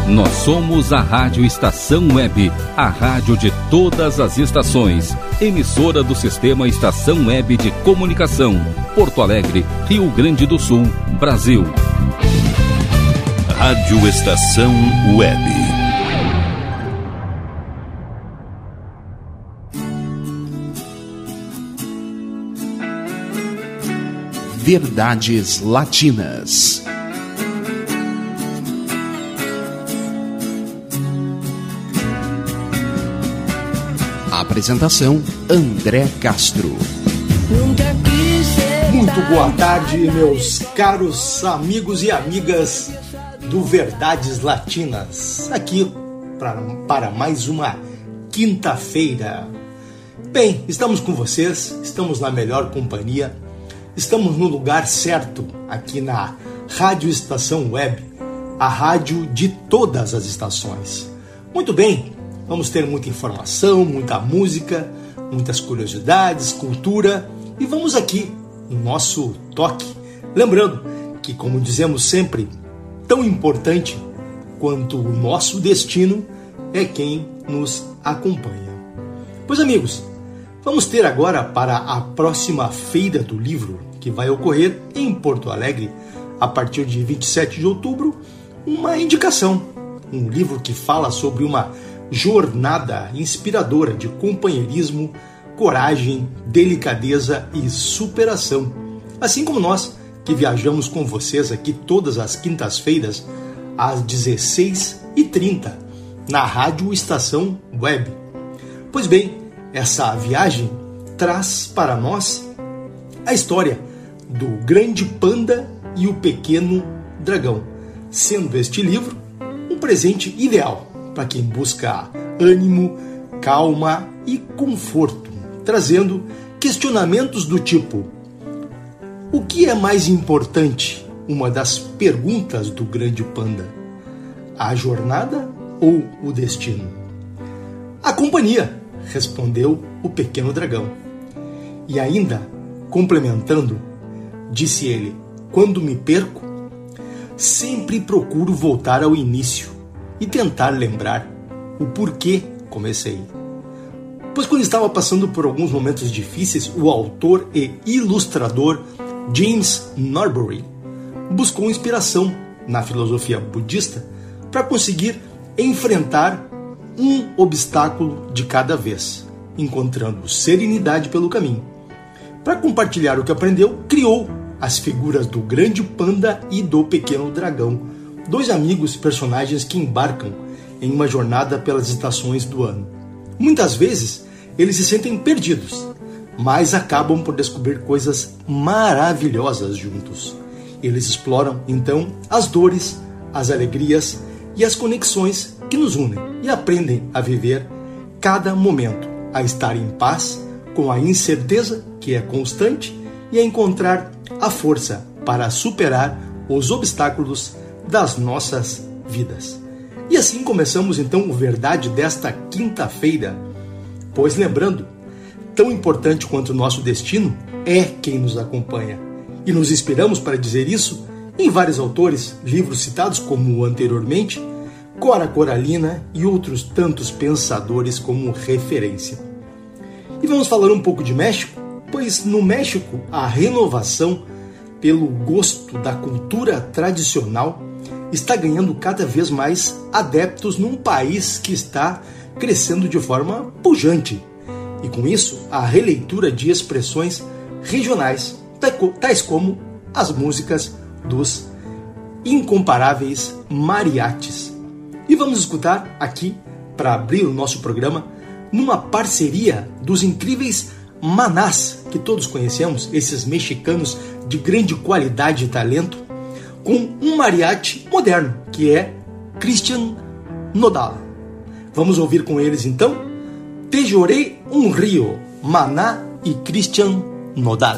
Nós somos a Rádio Estação Web, a rádio de todas as estações. Emissora do Sistema Estação Web de Comunicação. Porto Alegre, Rio Grande do Sul, Brasil. Rádio Estação Web. Verdades Latinas. Apresentação: André Castro. Muito boa tarde, meus caros amigos e amigas do Verdades Latinas. Aqui para mais uma quinta-feira. Bem, estamos com vocês, estamos na melhor companhia, estamos no lugar certo, aqui na Rádio Estação Web, a rádio de todas as estações. Muito bem, vamos ter muita informação, muita música, muitas curiosidades, cultura, e vamos aqui no nosso toque. Lembrando que, como dizemos sempre, tão importante quanto o nosso destino é quem nos acompanha. Pois, amigos, vamos ter agora, para a próxima Feira do Livro, que vai ocorrer em Porto Alegre, a partir de 27 de outubro, uma indicação. Um livro que fala sobre uma jornada inspiradora de companheirismo, coragem, delicadeza e superação. Assim como nós, que viajamos com vocês aqui todas as quintas-feiras, às 16h30, na Rádio Estação Web. Pois bem, essa viagem traz para nós a história do Grande Panda e o Pequeno Dragão, sendo este livro um presente ideal para quem busca ânimo, calma e conforto, trazendo questionamentos do tipo: o que é mais importante? Uma das perguntas do Grande Panda. A jornada ou o destino? A companhia, respondeu o Pequeno Dragão. E ainda, complementando, disse ele: quando me perco, sempre procuro voltar ao início e tentar lembrar o porquê comecei. Pois quando estava passando por alguns momentos difíceis, o autor e ilustrador James Norbury buscou inspiração na filosofia budista para conseguir enfrentar um obstáculo de cada vez, encontrando serenidade pelo caminho. Para compartilhar o que aprendeu, criou as figuras do Grande Panda e do Pequeno Dragão, dois amigos personagens que embarcam em uma jornada pelas estações do ano. Muitas vezes, eles se sentem perdidos, mas acabam por descobrir coisas maravilhosas juntos. Eles exploram, então, as dores, as alegrias e as conexões que nos unem e aprendem a viver cada momento, a estar em paz com a incerteza que é constante e a encontrar a força para superar os obstáculos das nossas vidas. E assim começamos então o Verdade desta quinta-feira, pois lembrando, tão importante quanto o nosso destino é quem nos acompanha. E nos inspiramos para dizer isso em vários autores, livros citados como anteriormente, Cora Coralina e outros tantos pensadores como referência. E vamos falar um pouco de México, pois no México a renovação pelo gosto da cultura tradicional está ganhando cada vez mais adeptos num país que está crescendo de forma pujante. E com isso, a releitura de expressões regionais, tais como as músicas dos incomparáveis mariachis. E vamos escutar aqui, para abrir o nosso programa, numa parceria dos incríveis Manás, que todos conhecemos, esses mexicanos de grande qualidade e talento, com um mariachi moderno, que é Cristian Nodal. Vamos ouvir com eles então Te Lloré un Río, Maná e Cristian Nodal.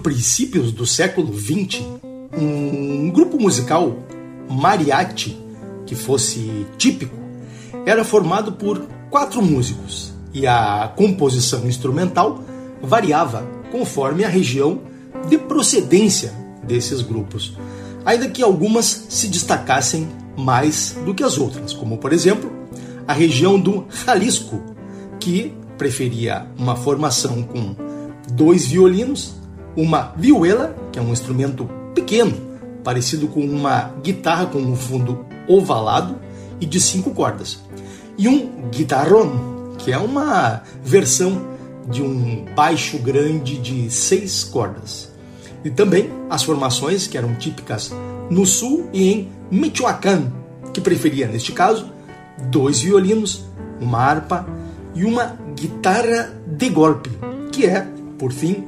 princípios do século XX, um grupo musical mariachi que fosse típico era formado por 4 músicos e a composição instrumental variava conforme a região de procedência desses grupos, ainda que algumas se destacassem mais do que as outras, como por exemplo a região do Jalisco, que preferia uma formação com 2 violinos, uma vihuela, que é um instrumento pequeno, parecido com uma guitarra com um fundo ovalado e de 5 cordas, e um guitarrón, que é uma versão de um baixo grande de 6 cordas. E também as formações que eram típicas no sul e em Michoacán, que preferia, neste caso, 2 violinos, uma harpa e uma guitarra de golpe, que é, por fim,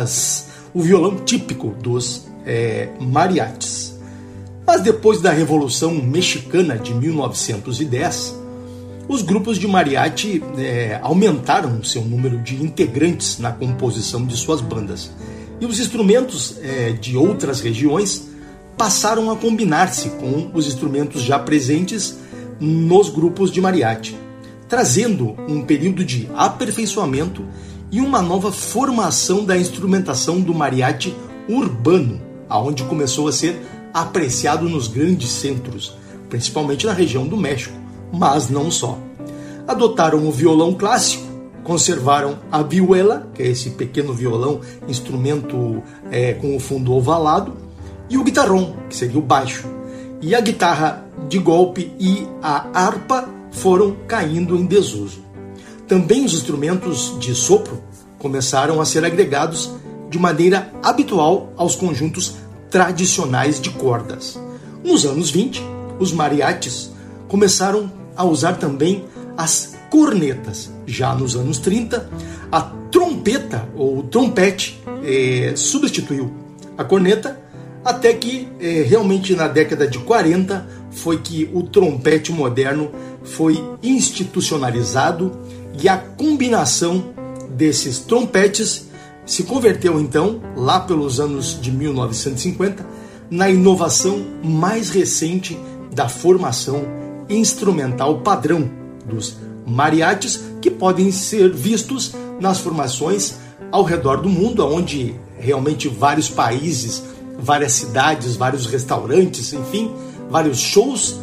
o violão típico dos mariachis. Mas depois da Revolução Mexicana de 1910, os grupos de mariachi aumentaram seu número de integrantes na composição de suas bandas. E os instrumentos de outras regiões passaram a combinar-se com os instrumentos já presentes nos grupos de mariachi, trazendo um período de aperfeiçoamento e uma nova formação da instrumentação do mariachi urbano, aonde começou a ser apreciado nos grandes centros, principalmente na região do México, mas não só. Adotaram o violão clássico, conservaram a vihuela, que é esse pequeno violão, instrumento com o fundo ovalado, e o guitarrón, que seria o baixo. E a guitarra de golpe e a harpa foram caindo em desuso. Também os instrumentos de sopro começaram a ser agregados de maneira habitual aos conjuntos tradicionais de cordas. Nos anos 20, os mariachis começaram a usar também as cornetas. Já nos anos 30, a trompeta ou trompete substituiu a corneta, até que realmente na década de 40 foi que o trompete moderno foi institucionalizado e a combinação desses trompetes se converteu então, lá pelos anos de 1950, na inovação mais recente da formação instrumental padrão dos mariachis, que podem ser vistos nas formações ao redor do mundo, onde realmente vários países, várias cidades, vários restaurantes, enfim, vários shows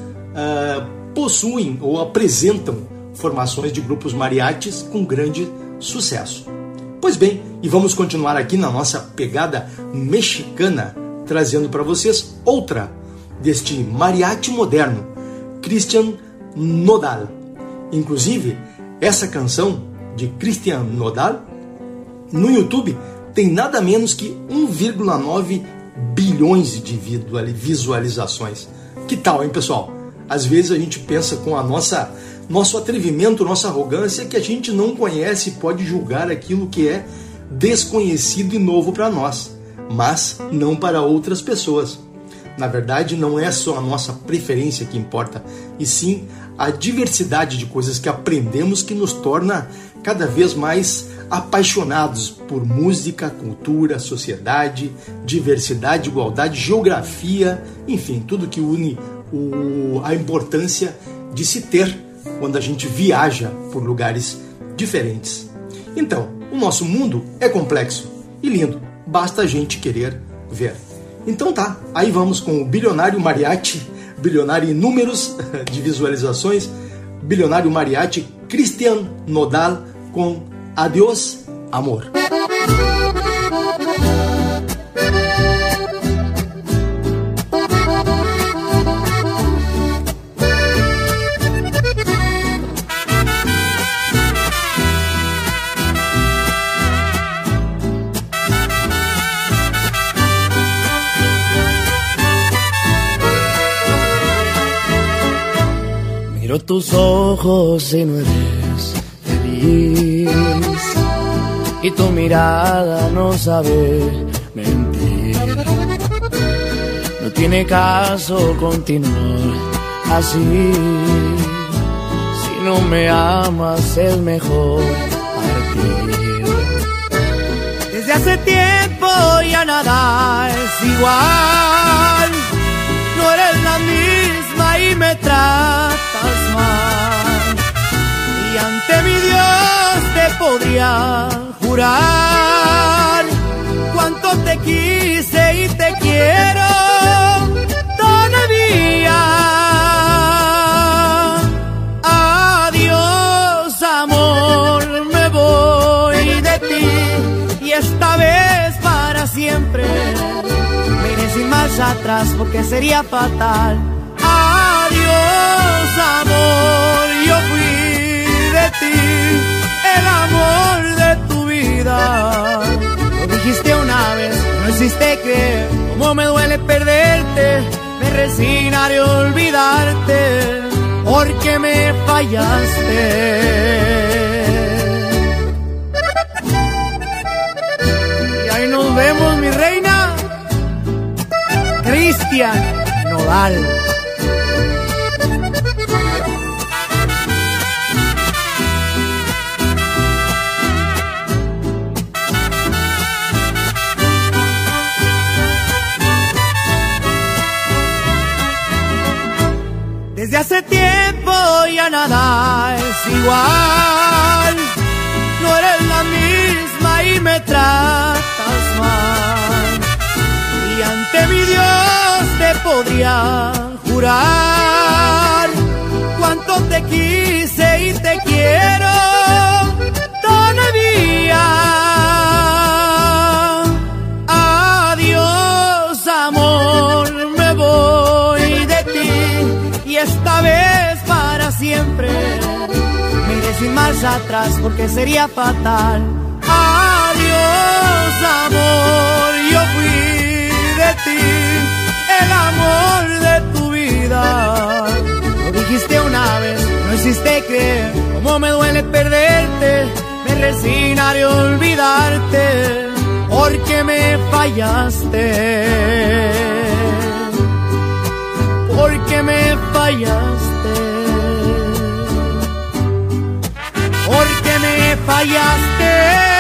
possuem ou apresentam formações de grupos mariachis com grande sucesso. Pois bem, e vamos continuar aqui na nossa pegada mexicana, trazendo para vocês outra deste mariachi moderno, Cristian Nodal. Inclusive, essa canção de Cristian Nodal, no YouTube, tem nada menos que 1,9 bilhões de visualizações. Que tal, hein, pessoal? Às vezes a gente pensa com a nosso atrevimento, nossa arrogância, que a gente não conhece e pode julgar aquilo que é desconhecido e novo para nós, mas não para outras pessoas. Na verdade, não é só a nossa preferência que importa, e sim a diversidade de coisas que aprendemos que nos torna cada vez mais apaixonados por música, cultura, sociedade, diversidade, igualdade, geografia, enfim, tudo que une a importância de se ter quando a gente viaja por lugares diferentes. Então, o nosso mundo é complexo e lindo, basta a gente querer ver. Então tá, aí vamos com o bilionário mariachi, bilionário em números de visualizações, bilionário mariachi Cristian Nodal com Adiós, Amor. Miro tus ojos y no eres feliz, y tu mirada no sabe mentir. No tiene caso continuar así. Si no me amas es mejor partir. Desde hace tiempo ya nada es igual. No eres la misma y me tratas mal. Y ante mi Dios te podría jurar cuánto te quise y te quiero todavía. Adiós, amor, me voy de ti y esta vez para siempre. Me iré sin marcha atrás porque sería fatal. Adiós, amor, yo fui de ti, el amor de tu vida. Lo dijiste una vez, no hiciste creer cómo me duele perderte. Me resignaré a olvidarte porque me fallaste. Y ahí nos vemos, mi reina. Cristian Nodal. Desde hace tiempo ya nada es igual. No eres la misma y me tratas mal. Y ante mi Dios te podría jurar cuánto te quise y te quiero todavía. Adiós, amor, me voy de ti y esta vez para siempre. Me iré sin marcha atrás porque sería fatal. Adiós, amor, yo fui de ti, el amor de tu vida. Lo dijiste una vez, no hiciste creer cómo me duele perderte. Me resignaré a olvidarte porque me fallaste. Porque me fallaste. Porque me fallaste.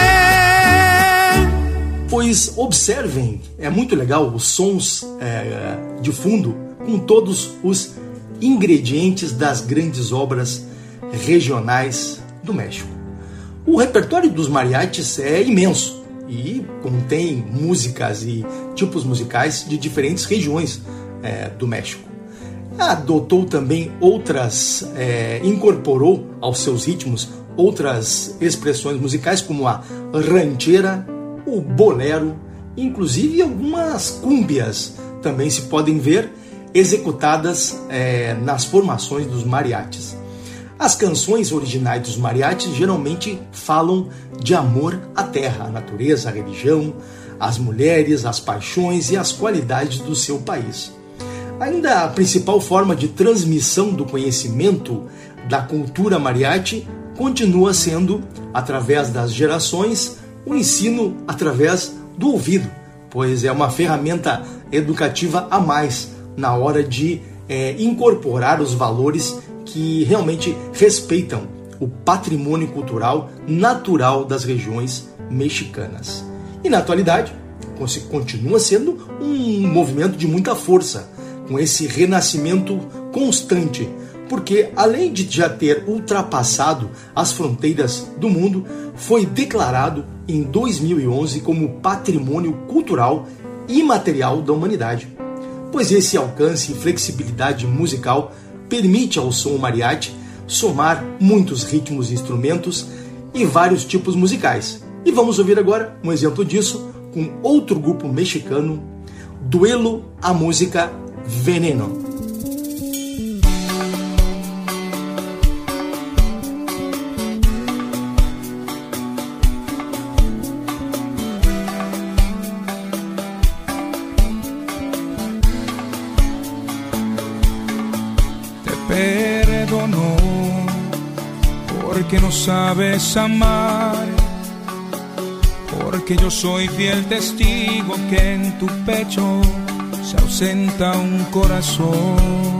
Pois observem, é muito legal os sons de fundo com todos os ingredientes das grandes obras regionais do México. O repertório dos mariachis é imenso e contém músicas e tipos musicais de diferentes regiões do México. Adotou também outras, incorporou aos seus ritmos outras expressões musicais como a ranchera, o bolero, inclusive algumas cúmbias também se podem ver executadas nas formações dos mariachis. As canções originais dos mariachis geralmente falam de amor à terra, à natureza, à religião, às mulheres, às paixões e às qualidades do seu país. Ainda a principal forma de transmissão do conhecimento da cultura mariachi continua sendo, através das gerações, o ensino através do ouvido, pois é uma ferramenta educativa a mais na hora de incorporar os valores que realmente respeitam o patrimônio cultural natural das regiões mexicanas. E na atualidade, continua sendo um movimento de muita força, com esse renascimento constante, porque além de já ter ultrapassado as fronteiras do mundo, foi declarado em 2011 como patrimônio cultural imaterial da humanidade. Pois esse alcance e flexibilidade musical permite ao som mariachi somar muitos ritmos e instrumentos e vários tipos musicais. E vamos ouvir agora um exemplo disso com outro grupo mexicano, Duelo a Música Veneno. Perdonó porque no sabes amar, porque yo soy fiel testigo que en tu pecho se ausenta un corazón.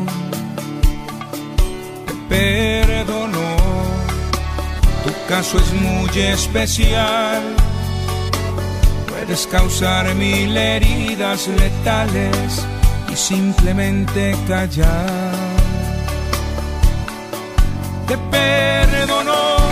Te perdonó, tu caso es muy especial, puedes causar 1000 heridas letales y simplemente callar. Te perdono,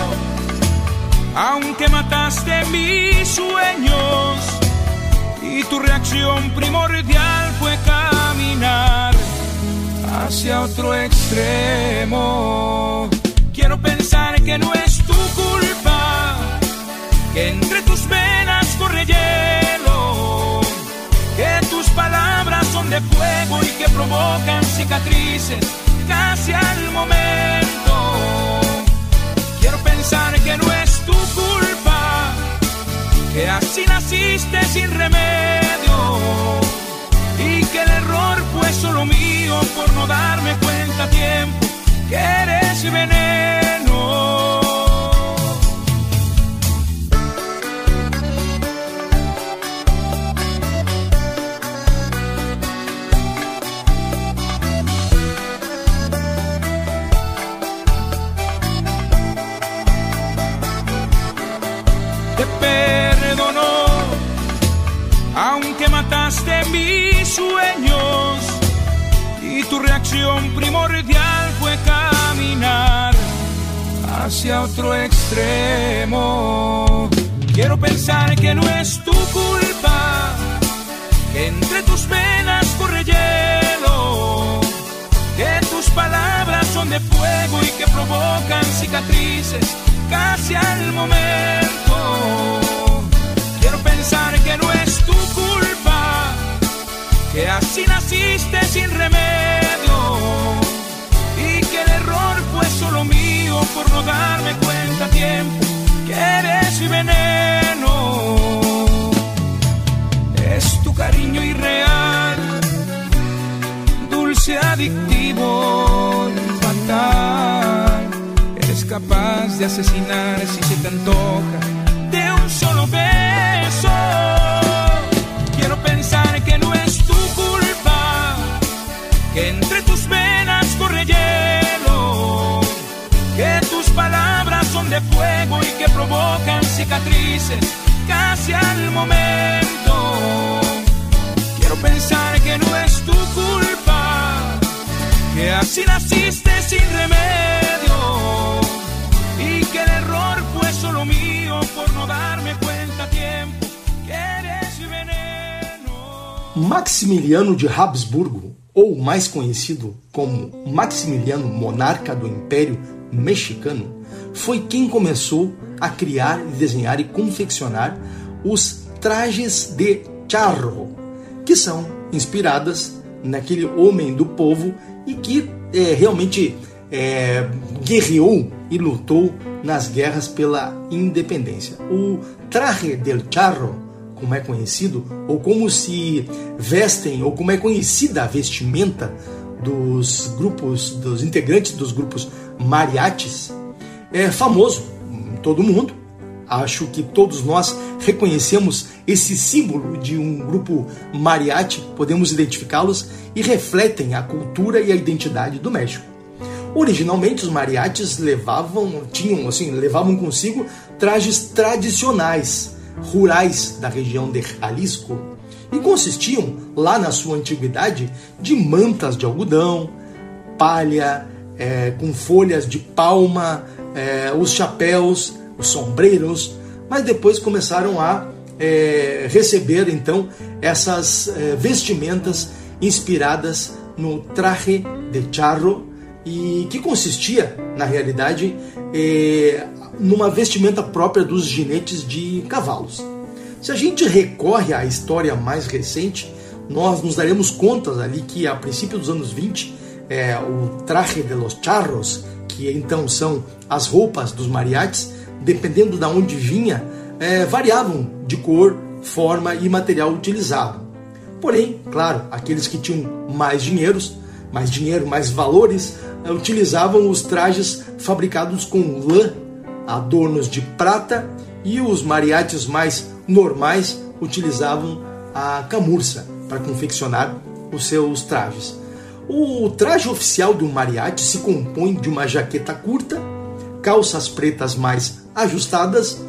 aunque mataste mis sueños, y tu reacción primordial fue caminar hacia otro extremo. Quiero pensar que no es tu culpa, que entre tus venas corre hielo, que tus palabras son de fuego y que provocan cicatrices casi al momento. Quiero pensar que no es tu culpa, que así naciste sin remedio, y que el error fue solo mío por no darme cuenta a tiempo que eres veneno. Te perdono, aunque mataste mis sueños, y tu reacción primordial fue caminar hacia otro extremo. Quiero pensar que no es tu culpa, que entre tus venas corre hielo, que tus palabras son de fuego y que provocan cicatrices casi al momento. Quiero pensar que no es tu culpa, que así naciste sin remedio, y que el error fue solo mío por no darme cuenta a tiempo que eres mi veneno. Es tu cariño irreal, dulce, adictivo y fatal. Eres capaz de asesinar si se te antoja de un solo beso. Quiero pensar que no es tu culpa, que entre tus venas corre hielo, que tus palabras son de fuego y que provocan cicatrices casi al momento. Quiero pensar que no es tu culpa, que así naciste sin remedio, y que el error fue solo mío por no darme cuenta a tiempo que eres veneno. Maximiliano de Habsburgo, ou mais conhecido como Maximiliano, monarca do Império Mexicano, foi quem começou a criar, desenhar e confeccionar os trajes de charro, que são inspiradas naquele homem do povo e que realmente guerreou e lutou nas guerras pela independência. O traje del charro, como é conhecido, ou como se vestem, ou como é conhecida a vestimenta dos grupos, dos integrantes dos grupos mariachis, é famoso em todo mundo. Acho que todos nós reconhecemos esse símbolo de um grupo mariachi, podemos identificá-los e refletem a cultura e a identidade do México. Originalmente os mariachis levavam consigo trajes tradicionais, rurais da região de Jalisco, e consistiam, lá na sua antiguidade, de mantas de algodão, palha, com folhas de palma, os chapéus, os sombreiros, mas depois começaram a receber então essas vestimentas inspiradas no traje de charro, e que consistia, na realidade, numa vestimenta própria dos ginetes de cavalos. Se a gente recorre à história mais recente, nós nos daremos conta ali que a princípio dos anos 20, o traje de los charros, que então são as roupas dos mariachis, dependendo de onde vinha, variavam de cor, forma e material utilizado. Porém, claro, aqueles que tinham mais dinheiro, mais valores, utilizavam os trajes fabricados com lã, adornos de prata, e os mariachis mais normais utilizavam a camurça para confeccionar os seus trajes. O traje oficial de um mariachi se compõe de uma jaqueta curta, calças pretas mais ajustadas e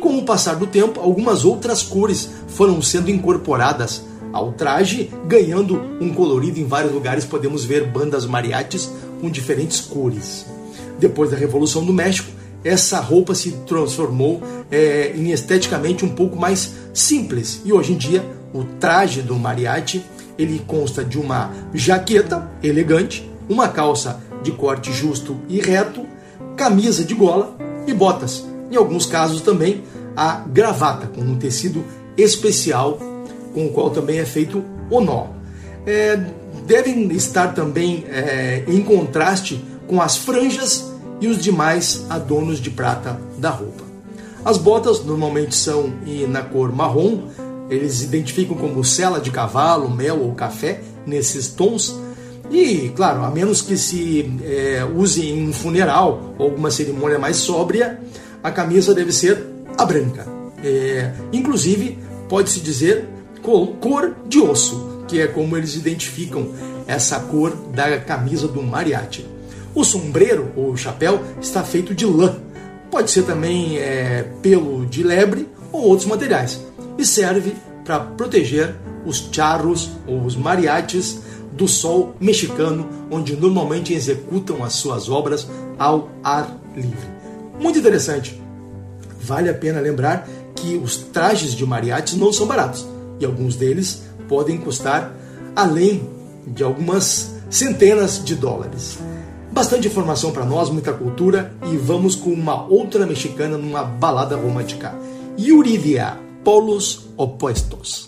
com o passar do tempo, algumas outras cores foram sendo incorporadas ao traje, ganhando um colorido. Em vários lugares podemos ver bandas mariachis com diferentes cores. Depois da Revolução do México, essa roupa se transformou em esteticamente um pouco mais simples. E hoje em dia, o traje do mariachi, ele consta de uma jaqueta elegante, uma calça de corte justo e reto, camisa de gola e botas. Em alguns casos também a gravata, com um tecido especial, com o qual também é feito o nó. Devem estar também em contraste com as franjas e os demais adornos de prata da roupa. As botas normalmente são na cor marrom, eles identificam como sela de cavalo, mel ou café, nesses tons. E, claro, a menos que se use em um funeral ou alguma cerimônia mais sóbria, a camisa deve ser a branca. Inclusive, pode-se dizer cor de osso, que é como eles identificam essa cor da camisa do mariachi. O sombreiro, ou chapéu, está feito de lã. Pode ser também pelo de lebre ou outros materiais. E serve para proteger os charros ou os mariachis do sol mexicano, onde normalmente executam as suas obras ao ar livre. Muito interessante. Vale a pena lembrar que os trajes de mariachis não são baratos, e alguns deles podem custar além de algumas centenas de dólares. Bastante informação para nós, muita cultura, e vamos com uma outra mexicana numa balada romântica. Yuridia, Polos Opuestos.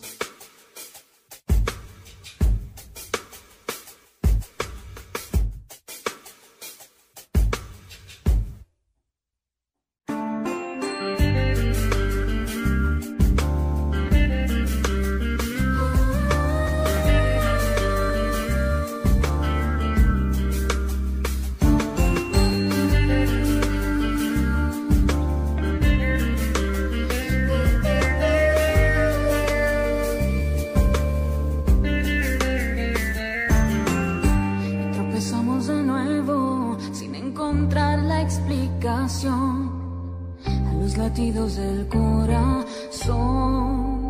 A los latidos del corazón,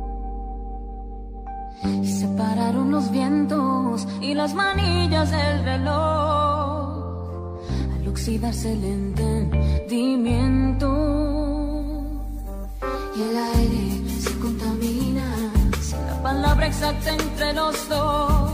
y separaron los vientos y las manillas del reloj al oxidarse el entendimiento, y el aire se contamina sin la palabra exacta entre los dos.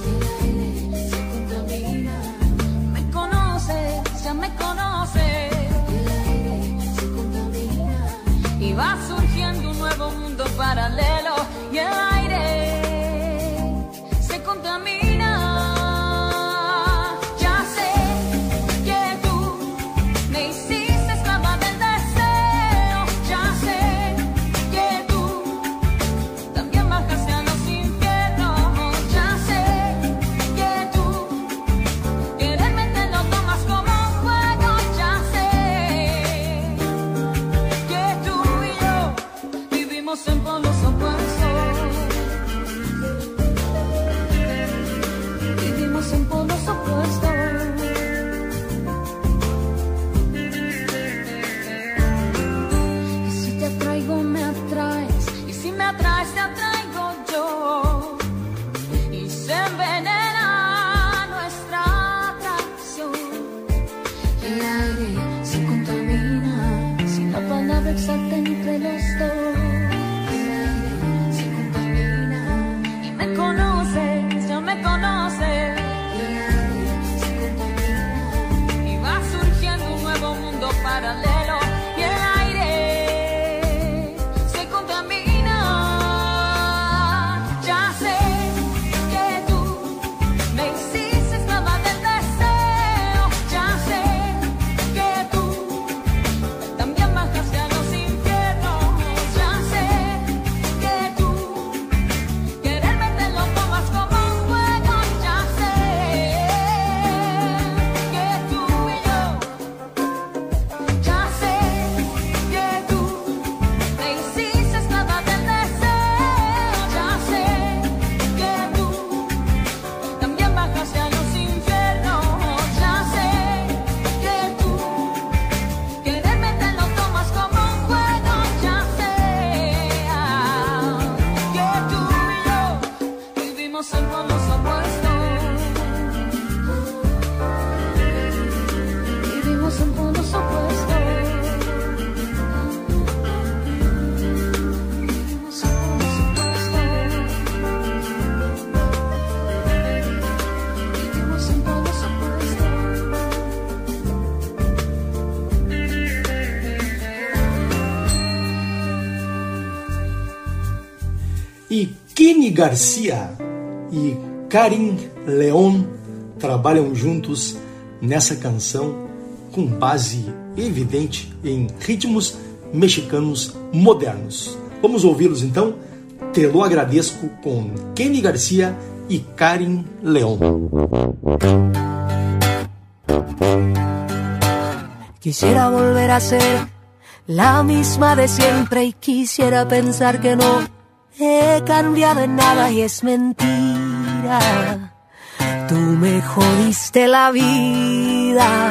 Ya me conoce, el aire se contamina y va surgiendo un nuevo mundo paralelo, y el aire se contamina. Ya sé que tú me hiciste esclava del deseo, ya sé que tú también bajaste a los infiernos, ya sé que tú quieres meterlo tomas como en polos opuestos. en polos opuestos. Vivimos en polos opuestos. E Kenny Garcia e Karin León trabalham juntos nessa canção com base evidente em ritmos mexicanos modernos. Vamos ouvi-los então? Te lo agradezco com Kenny Garcia e Karin León. Quisiera volver a ser la misma de siempre y quisiera pensar que no he cambiado en nada y es mentira. Tú me jodiste la vida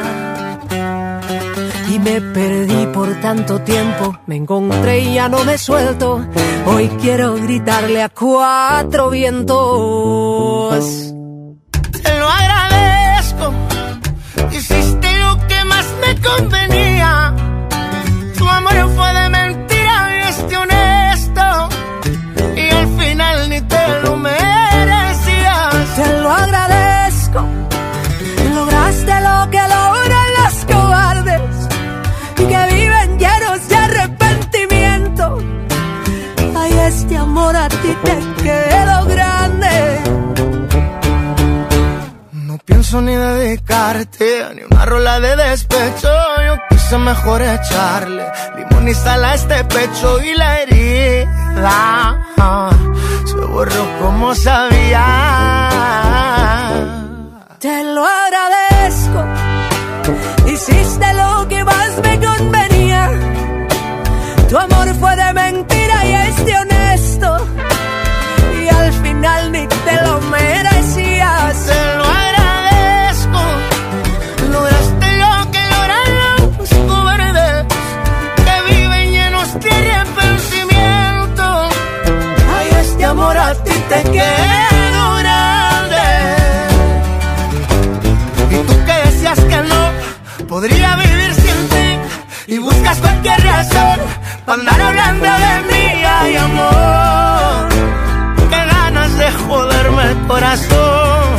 y me perdí por tanto tiempo. Me encontré y ya no me suelto. Hoy quiero gritarle a cuatro vientos. Te lo agradezco. Hiciste lo que más me convenía. Tu amor fue de mentira y es de honesto. Y al final ni te lo merecías. Te lo agradezco. Lograste lo que logran los cobardes y que viven llenos de arrepentimiento. Ay, este amor a ti te quedó grande. No pienso ni dedicarte ni una rola de despecho. Yo quise mejor echarle limón y sal a este pecho y la herida se borró como sabía. Te lo agradezco. Hiciste lo que más me convenía. Tu amor fue de mentira y es de honesto. Y al final ni te lo merecías. Te lo agradezco. Lograste lo que logran los cobardes que viven llenos de arrepentimiento. Ay, este amor a ti te quedó grande. Y tú que decías que no podría vivir sin ti y buscas cualquier razón para andar hablando de mí. Ay, amor, qué ganas de joderme el corazón.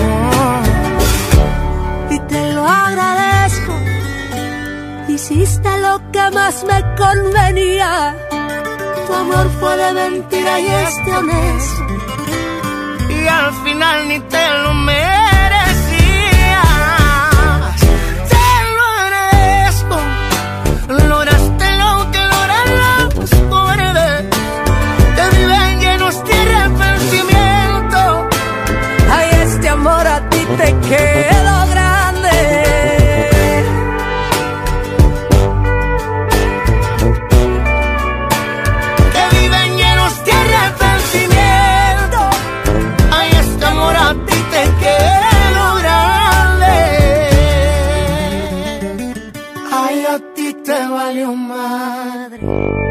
Y te lo agradezco. Hiciste lo que más me convenía. Tu amor fue de mentira y es de honesto. Y al final ni te lo merecías. Te lo agradezco. Lograste lo que logran los cobardes que viven llenos de arrepentimiento. Ay, este amor a ti te quedó grande. Que viven llenos de arrepentimiento. Ay, este amor a ti te quedó grande. Ay, a ti te valió madre.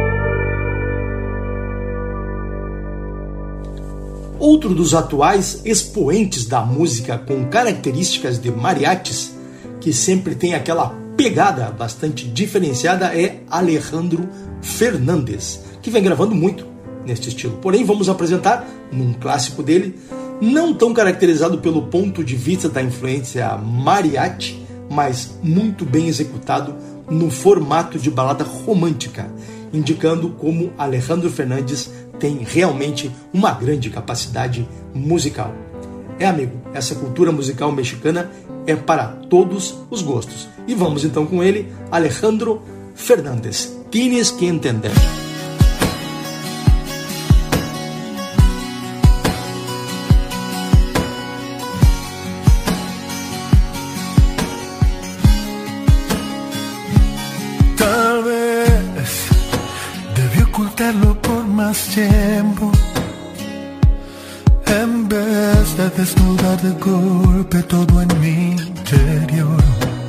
Outro dos atuais expoentes da música com características de mariachis, que sempre tem aquela pegada bastante diferenciada, é Alejandro Fernández, que vem gravando muito neste estilo. Porém, vamos apresentar num clássico dele, não tão caracterizado pelo ponto de vista da influência mariachi, mas muito bem executado no formato de balada romântica, indicando como Alejandro Fernández tem realmente uma grande capacidade musical. Amigo, essa cultura musical mexicana é para todos os gostos. E vamos então com ele, Alejandro Fernández. Tienes que entender. Tal vez debí ocultarlo por más tiempo, en vez de desnudar de golpe todo en mi interior.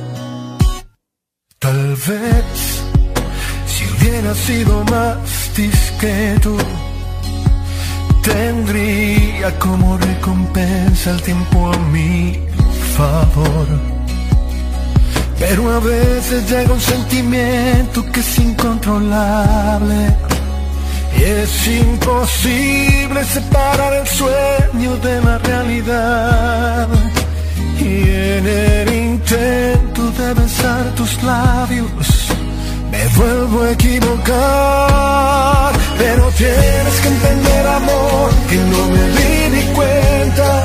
Tal vez si hubiera sido más discreto, tendría como recompensa el tiempo a mi favor. Pero a veces llega un sentimiento que es incontrolable y es imposible separar el sueño de la realidad. Y en el intento de besar tus labios me vuelvo a equivocar. Pero tienes que entender, amor, que no me di ni cuenta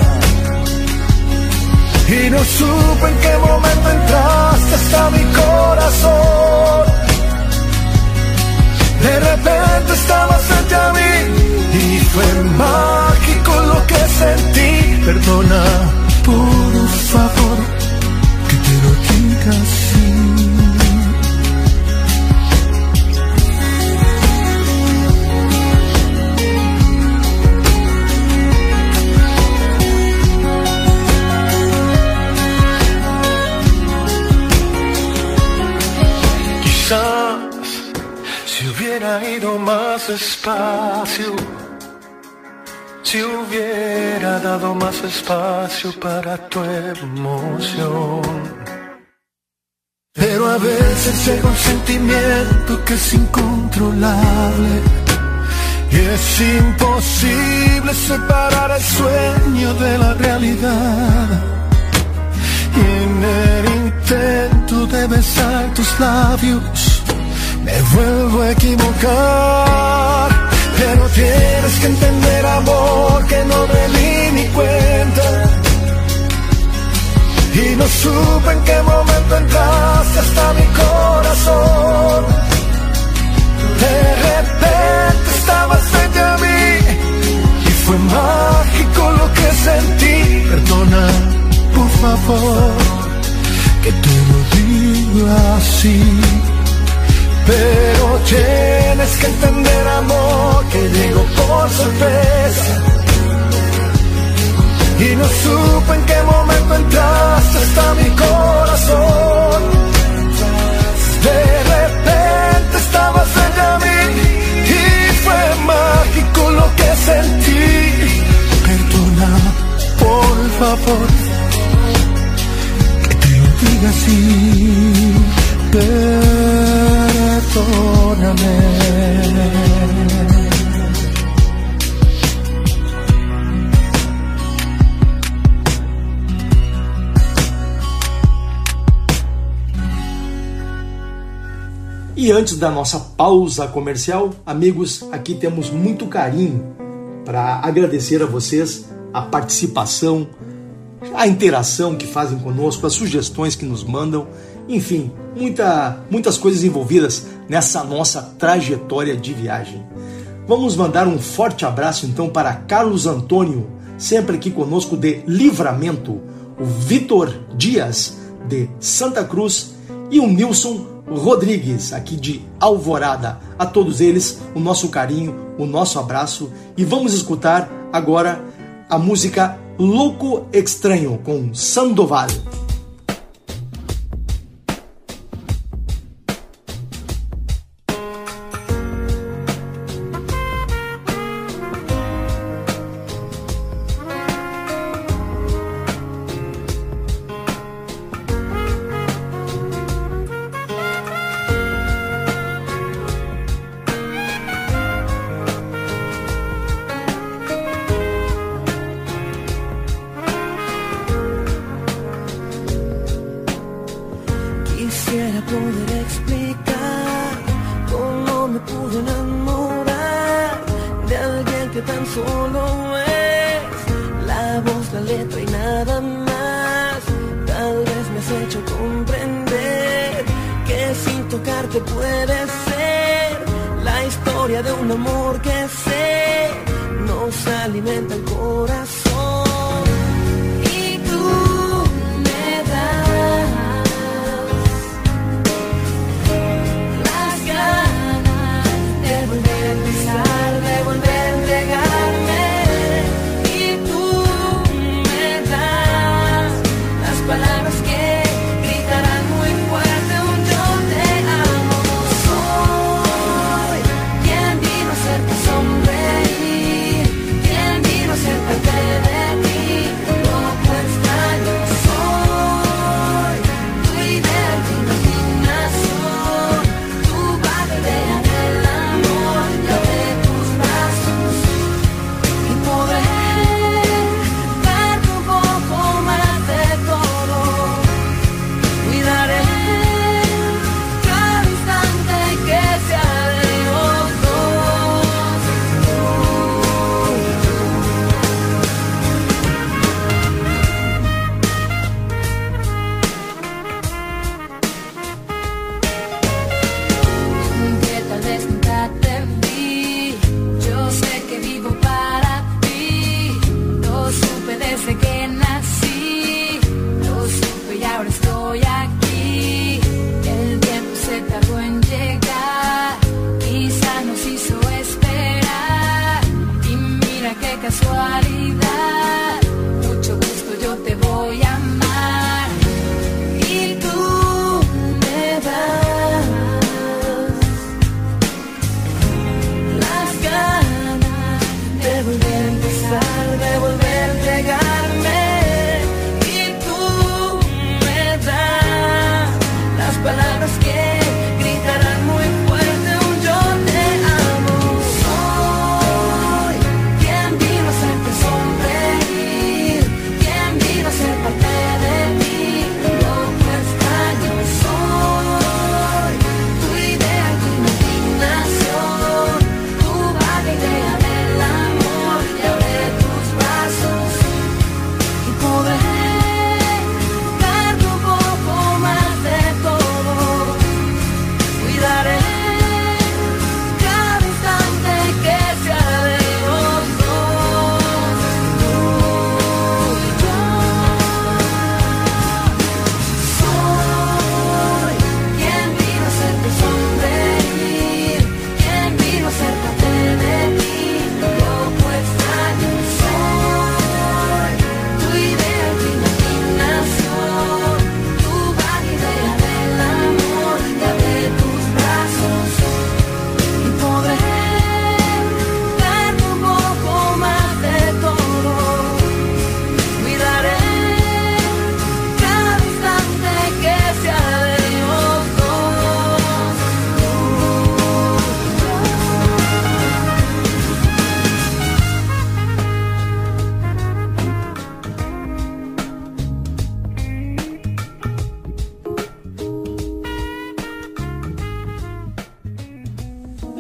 y no supe en qué momento entraste hasta mi corazón. De repente estabas frente a mí y fue mágico lo que sentí. Perdona, por favor, que te lo diga así. Si hubiera ido más despacio, si hubiera dado más espacio para tu emoción. Pero a veces llega un sentimiento que es incontrolable y es imposible separar el sueño de la realidad. Y en el intento de besar tus labios me vuelvo a equivocar. Pero tienes que entender, amor, que no me di ni cuenta y no supe en qué momento entraste hasta mi corazón. De repente estabas frente a mí y fue mágico lo que sentí. Perdona, por favor, que te lo diga así. Pero tienes que entender, amor, que llegó por sorpresa y no supe en qué momento entraste hasta mi corazón. De repente estabas frente a mí y fue mágico lo que sentí. Perdona, por favor, que te lo diga así. Perdóname. E antes da nossa pausa comercial, amigos, aqui temos muito carinho para agradecer a vocês a participação, a interação que fazem conosco, as sugestões que nos mandam, enfim, muitas coisas envolvidas nessa nossa trajetória de viagem. Vamos mandar um forte abraço então para Carlos Antônio, sempre aqui conosco de Livramento, o Vitor Dias de Santa Cruz e o Nilson Rodrigues aqui de Alvorada. A todos eles o nosso carinho, o nosso abraço, e vamos escutar agora a música Louco Estranho com Sandoval. Quisiera poder explicar cómo me pude enamorar de alguien que tan solo es la voz, la letra y nada más. Tal vez me has hecho comprender que sin tocarte puede ser la historia de un amor que sé nos alimenta el corazón. Y tú me das de volver a empezar, de volver a entregarme. Y tú me das las palabras que gritarán muy fuerte un yo te amo. Soy quien vino a hacerte sonreír,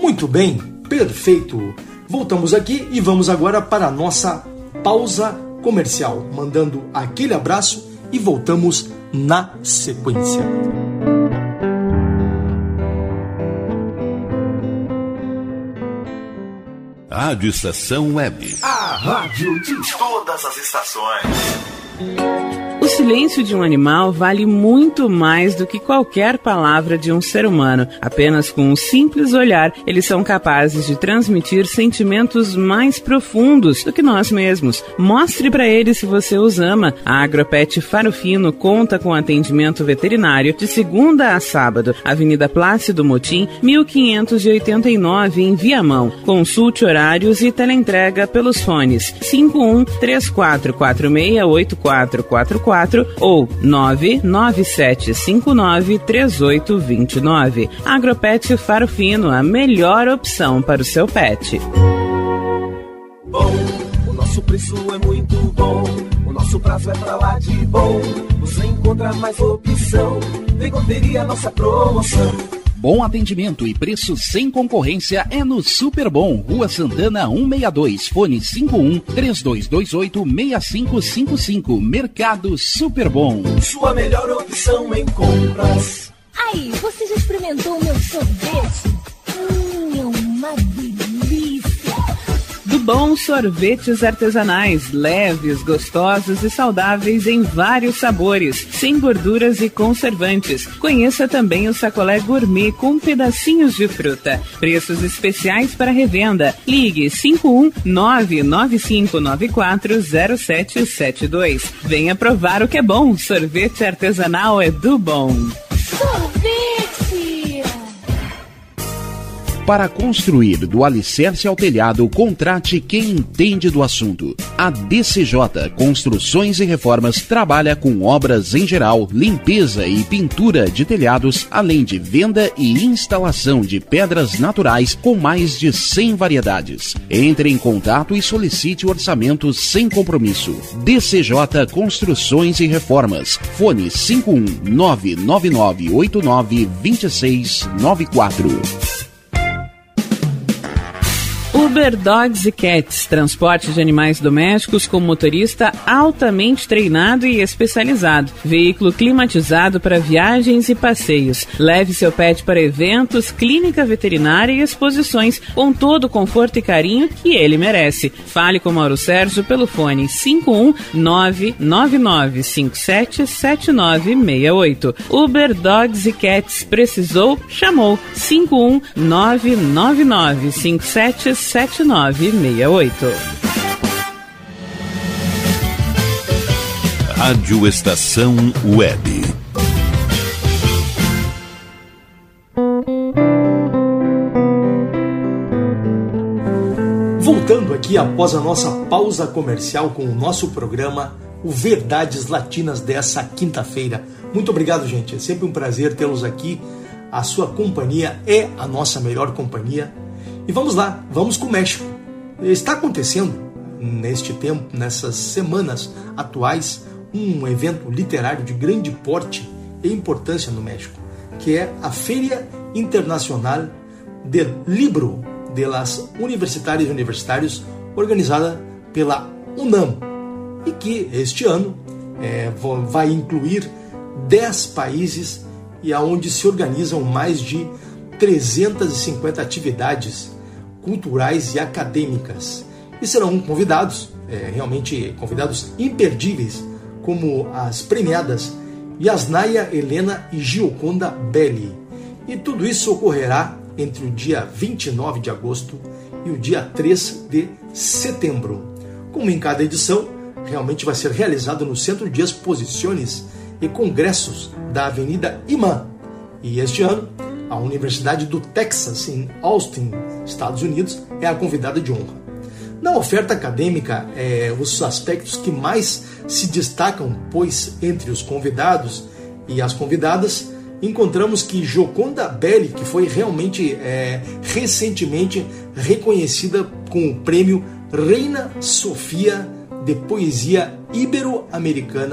Muito bem, perfeito. Voltamos aqui e vamos agora para a nossa pausa comercial, mandando aquele abraço e voltamos na sequência. Rádio Estação Web. A rádio de todas as estações. O silêncio de um animal vale muito mais do que qualquer palavra de um ser humano. Apenas com um simples olhar, eles são capazes de transmitir sentimentos mais profundos do que nós mesmos. Mostre para eles se você os ama. A Agropet Faro Fino conta com atendimento veterinário de segunda a sábado. Avenida Plácido Motim, 1589, em Viamão. Consulte horários e teleentrega pelos fones 51-3446-8444 ou 997593829. Agropet Faro Fino, a melhor opção para o seu pet. Bom, o nosso preço é muito bom, o nosso prazo é pra lá de bom. Você encontra mais opção, vem conferir a nossa promoção. Bom atendimento e preço sem concorrência é no Super Bom, Rua Santana 162, fone 51-3228-6555, Mercado Super Bom. Sua melhor opção em compras. Aí, você já experimentou o meu sorvete? É uma delícia! Do Bom Sorvetes Artesanais, leves, gostosos e saudáveis em vários sabores, sem gorduras e conservantes. Conheça também o sacolé gourmet com pedacinhos de fruta. Preços especiais para revenda. Ligue 51995940772. Venha provar o que é bom. Sorvete artesanal é do Bom. Sorvete! Para construir do alicerce ao telhado, contrate quem entende do assunto. A DCJ Construções e Reformas trabalha com obras em geral, limpeza e pintura de telhados, além de venda e instalação de pedras naturais com mais de 100 variedades. Entre em contato e solicite orçamento sem compromisso. DCJ Construções e Reformas. Fone 51999892694. Uber Dogs e Cats, transporte de animais domésticos com motorista altamente treinado e especializado. Veículo climatizado para viagens e passeios. Leve seu pet para eventos, clínica veterinária e exposições com todo o conforto e carinho que ele merece. Fale com Mauro Sérgio pelo fone 51999577968. Uber Dogs e Cats, precisou? Chamou 51999577968. Rádio Estação Web. Voltando aqui após a nossa pausa comercial com o nosso programa, o Verdades Latinas dessa quinta-feira. Muito obrigado, gente. É sempre um prazer tê-los aqui. A sua companhia é a nossa melhor companhia. E vamos lá, vamos com o México. Está acontecendo neste tempo, nessas semanas atuais, um evento literário de grande porte e importância no México, que é a Feria Internacional del Libro de las Universitárias e Universitários, organizada pela UNAM, e que este ano vai incluir 10 países e aonde se organizam mais de 350 atividades culturais e acadêmicas. E serão convidados, realmente convidados imperdíveis, como as premiadas Yasnaya Helena e Gioconda Belli. E tudo isso ocorrerá entre o dia 29 de agosto e o dia 3 de setembro. Como em cada edição, realmente vai ser realizado no Centro de Exposições e Congressos da Avenida Imã. E este ano, a Universidade do Texas, em Austin, Estados Unidos, é a convidada de honra. Na oferta acadêmica, os aspectos que mais se destacam, pois entre os convidados e as convidadas, encontramos que Gioconda Belli, que foi realmente recentemente reconhecida com o prêmio Reina Sofia de Poesia Ibero-Americana,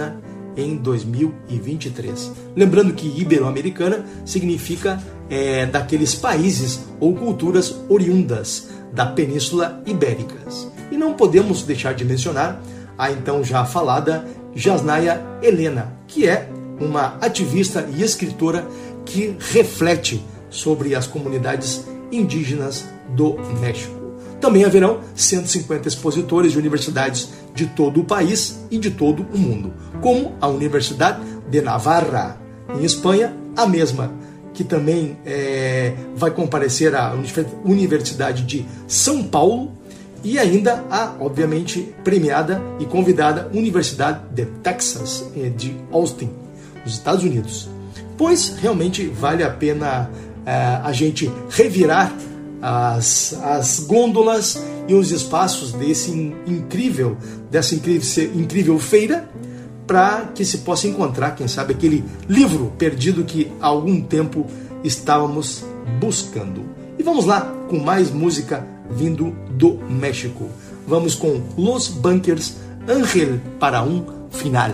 em 2023. Lembrando que ibero-americana significa daqueles países ou culturas oriundas da Península Ibérica. E não podemos deixar de mencionar a então já falada Jasnaya Elena, que é uma ativista e escritora que reflete sobre as comunidades indígenas do México. Também haverão 150 expositores de universidades de todo o país e de todo o mundo, como a Universidade de Navarra, em Espanha, a mesma, que também vai comparecer à Universidade de São Paulo, e ainda a, obviamente, premiada e convidada Universidade de Texas, de Austin, nos Estados Unidos. Pois realmente vale a pena a gente revirar as gôndolas e os espaços dessa incrível feira, para que se possa encontrar, quem sabe, aquele livro perdido que há algum tempo estávamos buscando. E vamos lá com mais música vindo do México. Vamos com Los Bunkers, Ángel para un Final.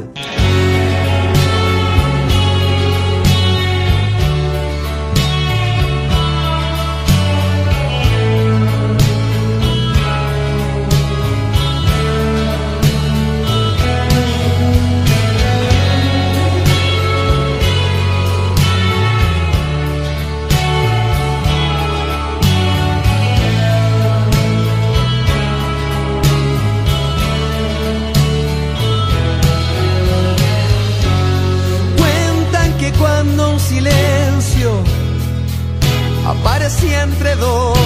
Aparecía entre dos,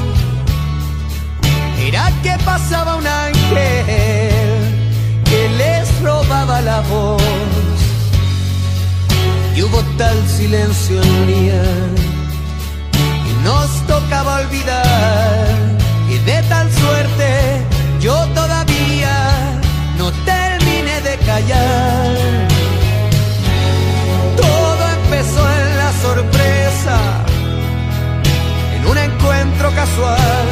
era que pasaba un ángel que les robaba la voz, y hubo tal silencio en un día y nos tocaba olvidar, y de tal suerte yo todavía no terminé de callar. Todo empezó en la sorpresa, un encuentro casual,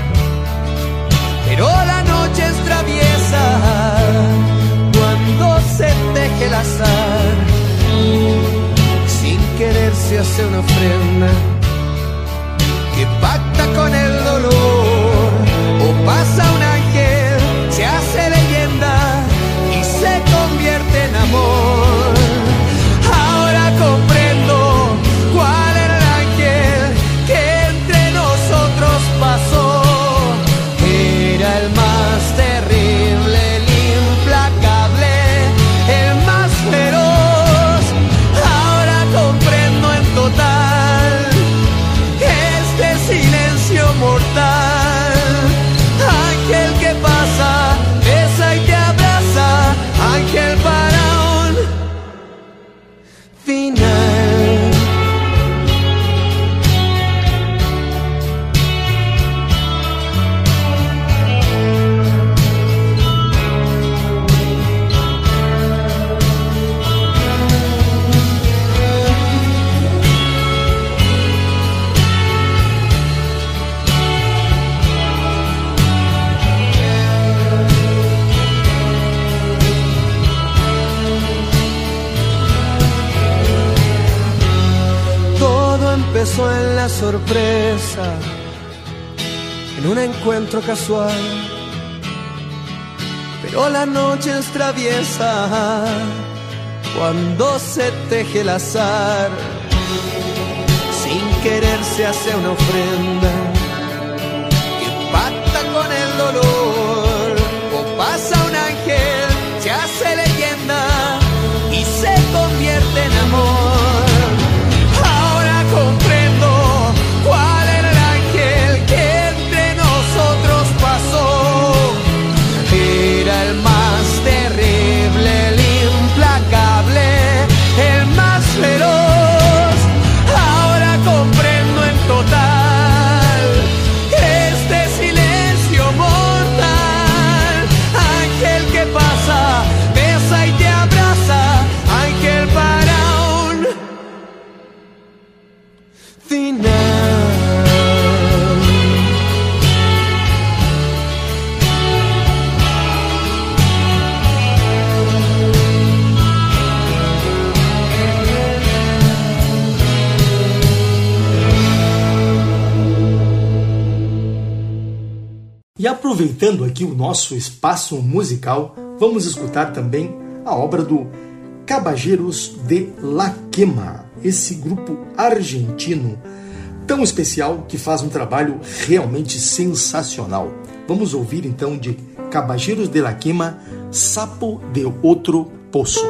pero la noche es traviesa cuando se teje el azar. Sin querer se hace una ofrenda que pacta con el dolor, o pasa un ángel, se hace leyenda y se convierte en amor. Ahora comprendo cuál era el ángel que entre nosotros pasó. Era el más terrible, el implacable, el más feroz. Ahora comprendo en total este silencio mortal. Ángel que pasa, besa y te abraza. Ángel para un final. Empezó en la sorpresa, en un encuentro casual, pero la noche es traviesa cuando se teje el azar. Sin querer se hace una ofrenda que pacta con el dolor, o pasa un ángel, se hace leyenda y se convierte en amor. Comprendo cuál era el ángel que entre nosotros pasó. Era el más terrible, el implacable, el más feroz. Ahora comprendo en total este silencio mortal. aproveitando aqui o nosso espaço musical, vamos escutar também a obra do Caballeros de la Quema, esse grupo argentino tão especial que faz um trabalho realmente sensacional. Vamos ouvir então de Caballeros de la Quema, Sapo de Outro Poço.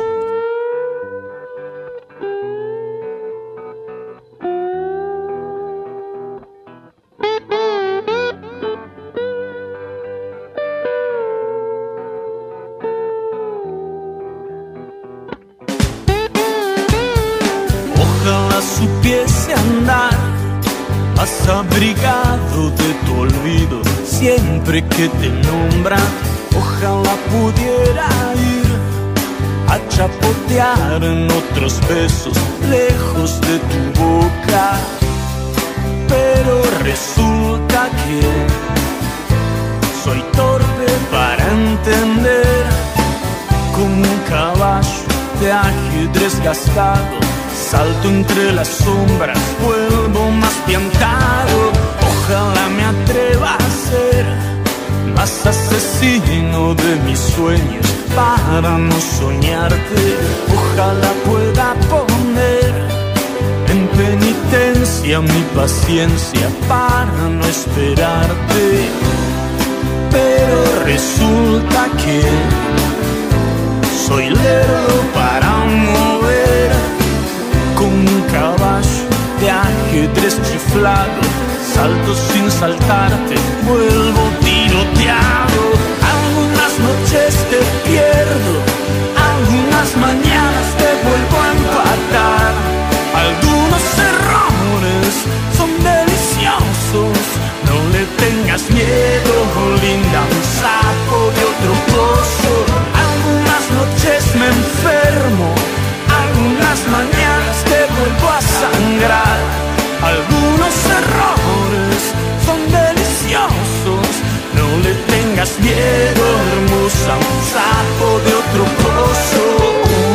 Supiese andar más abrigado de tu olvido siempre que te nombran. Ojalá pudiera ir a chapotear en otros besos lejos de tu boca, pero resulta que soy torpe para entender. Como un caballo de ajedrez gastado, salto entre las sombras, vuelvo más piantado. Ojalá me atreva a ser más asesino de mis sueños para no soñarte. Ojalá pueda poner en penitencia mi paciencia para no esperarte. Pero resulta que soy lerdo para mover. Como un caballo de ajedrez chiflado, salto sin saltarte, vuelvo tiroteado. Algunas noches te pierdo, algunas mañanas te vuelvo a empatar. Algunos errores son deliciosos, no le tengas miedo, linda, un sapo de otro pozo. Algunas noches me enfermo, algunas mañanas te vuelvo a sangrar. Algunos errores son deliciosos, no le tengas miedo, hermosa, un sapo de otro pozo.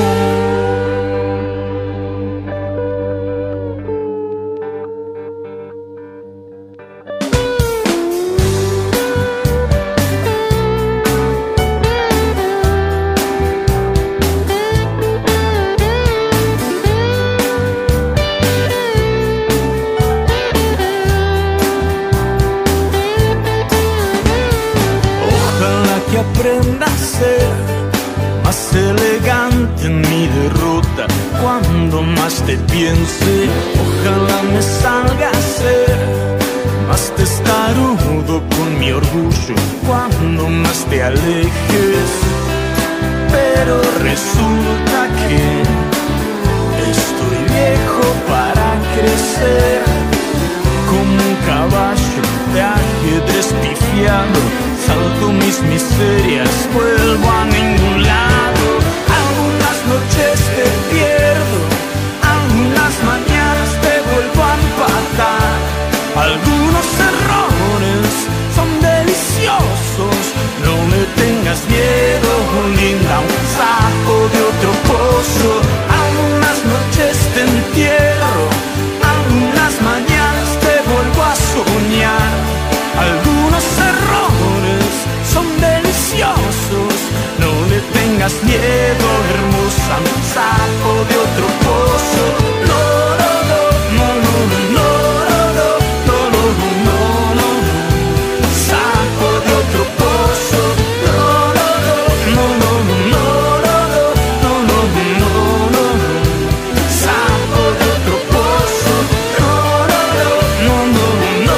Aprenda a ser más elegante en mi derrota cuando más te piense. Ojalá me salga a ser más testarudo con mi orgullo cuando más te alejes. Pero resulta que estoy viejo para crecer. Como un caballo de ajedrez pifiado, salto mis miserias, vuelvo a ningún lado. Algunas noches te pierdo, algunas mañanas te vuelvo a empatar. Algunos errores son deliciosos, no le tengas miedo, linda, un sapo de otro pozo. Algunas noches te entierro, algunas mañanas te vuelvo a soñar. Algunos errores son deliciosos, no le tengas miedo, hermosa, un sapo de otro pozo. No, no, no, no, no, no, no, no, no, no, no, sapo de otro pozo. No, no, no, no, no, no, no, no, no, no, sapo de otro pozo. No, no, no, no, no, no.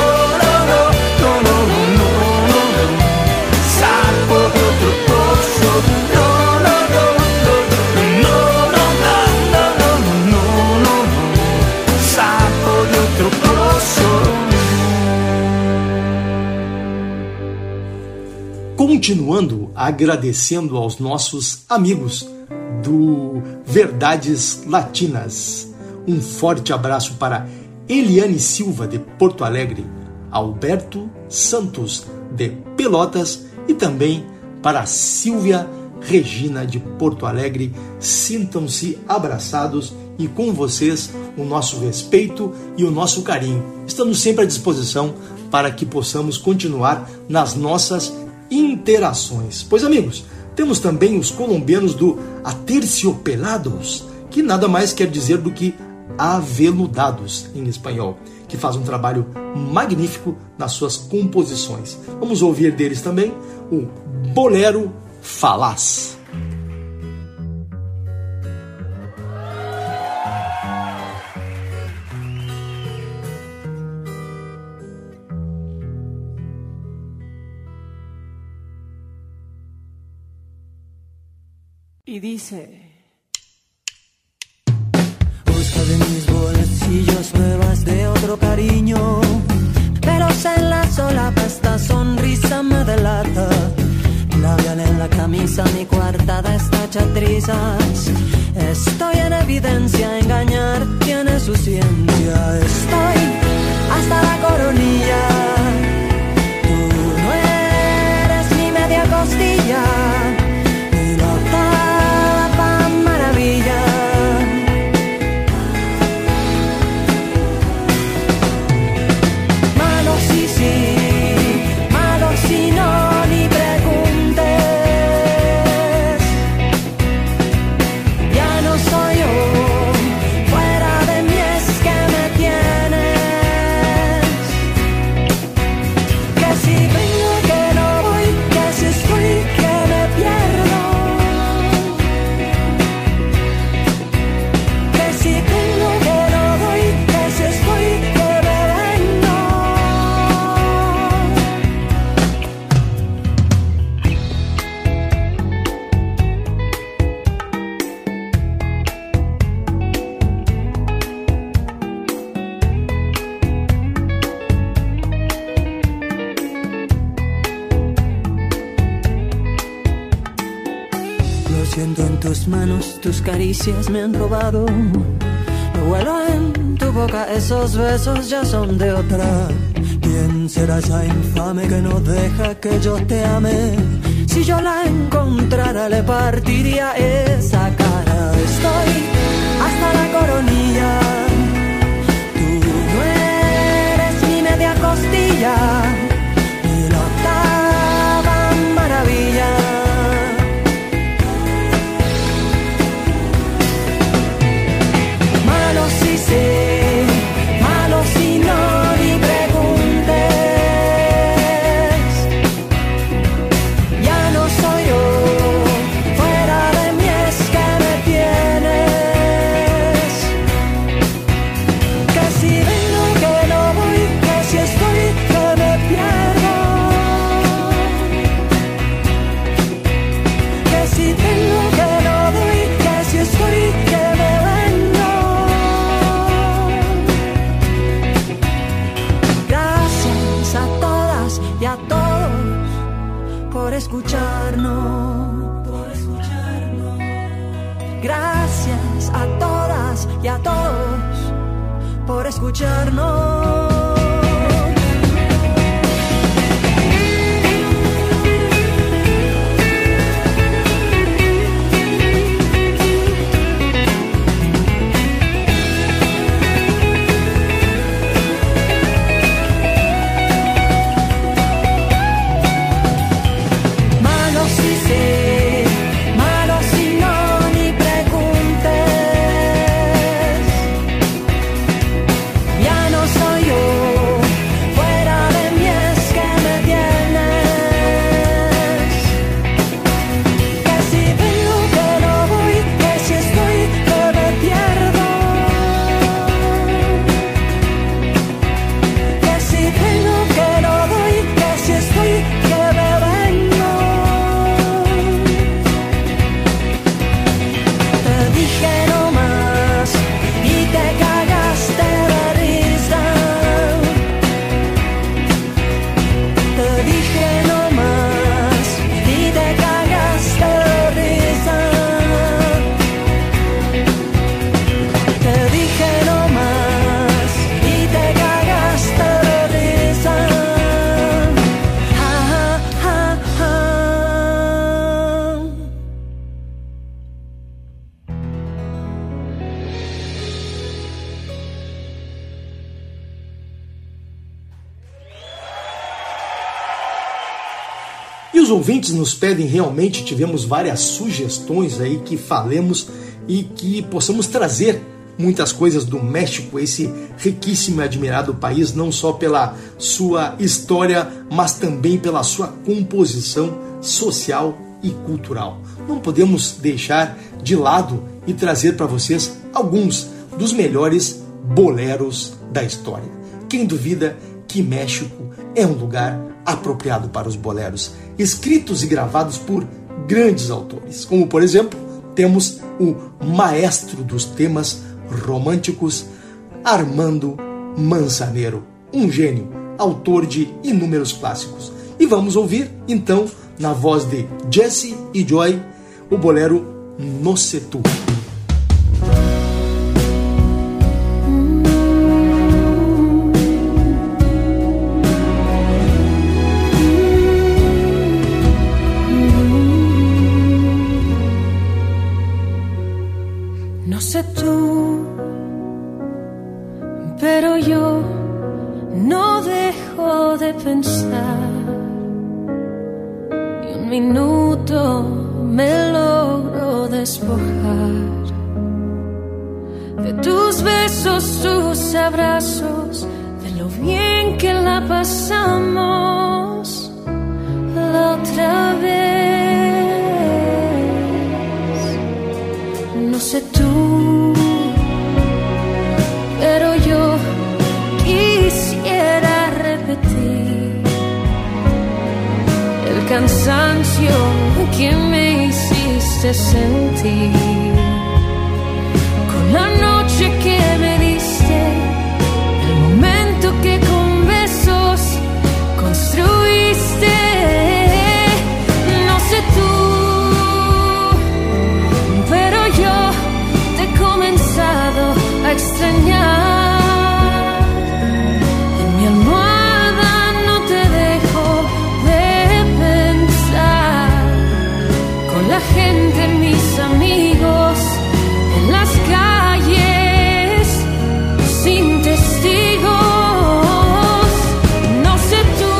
Continuando agradecendo aos nossos amigos do Verdades Latinas. Um forte abraço para Eliane Silva, de Porto Alegre, Alberto Santos, de Pelotas, e também para Silvia Regina de Porto Alegre. Sintam-se abraçados e com vocês o nosso respeito e o nosso carinho. Estamos sempre à disposição para que possamos continuar nas nossas interações. Pois, amigos, temos também os colombianos do Aterciopelados, que nada mais quer dizer do que aveludados em espanhol, que faz um trabalho magnífico nas suas composições. Vamos ouvir deles também o Bolero Falaz. Y dice: busco de mis bolsillos pruebas de otro cariño, pero en la solapa esta sonrisa me delata. Labial en la camisa, mi coartada está hecha trizas. Estoy en evidencia, engañar tiene su ciencia. Estoy hasta la coronilla, tú no eres ni media costilla. Tus caricias me han robado. Lo huelo en tu boca, esos besos ya son de otra. ¿Quién será esa infame que no deja que yo te ame? Si yo la encontrara le partiría esa cara. Estoy hasta la coronilla, tú no eres ni media costilla, ni la octava maravilla. Malo si no ni preguntes. Ya no soy yo, fuera de mí es que me tienes. Que si vengo que no voy, que si estoy que me pierdo. Que si vengo que no voy, que si estoy que me vengo. Y a todos por escucharnos, Gracias a todas y a todos por escucharnos. Ya no soy yo. os ouvintes nos pedem, realmente tivemos várias sugestões aí que falemos e que possamos trazer muitas coisas do México, esse riquíssimo e admirado país, não só pela sua história, mas também pela sua composição social e cultural. Não podemos deixar de lado e trazer para vocês alguns dos melhores boleros da história. Quem duvida que México é um lugar apropriado para os boleros, escritos e gravados por grandes autores, como por exemplo, temos o maestro dos temas românticos, Armando Manzanero, um gênio, autor de inúmeros clássicos. E vamos ouvir, então, na voz de Jesse e Joy, o bolero No Sé Tú. No sé tú, pero yo no dejo de pensar. Y un minuto me logro despojar de tus besos, tus abrazos, de lo bien que la pasamos la otra vez. No sé tú, pero yo quisiera repetir el cansancio que me hiciste sentir con la noche que me diste, el momento que con besos construiste. No sé tú, pero yo te he comenzado a extrañar. En mi almohada no te dejo de pensar, con la gente, mis amigos, en las calles, sin testigos. No sé tú,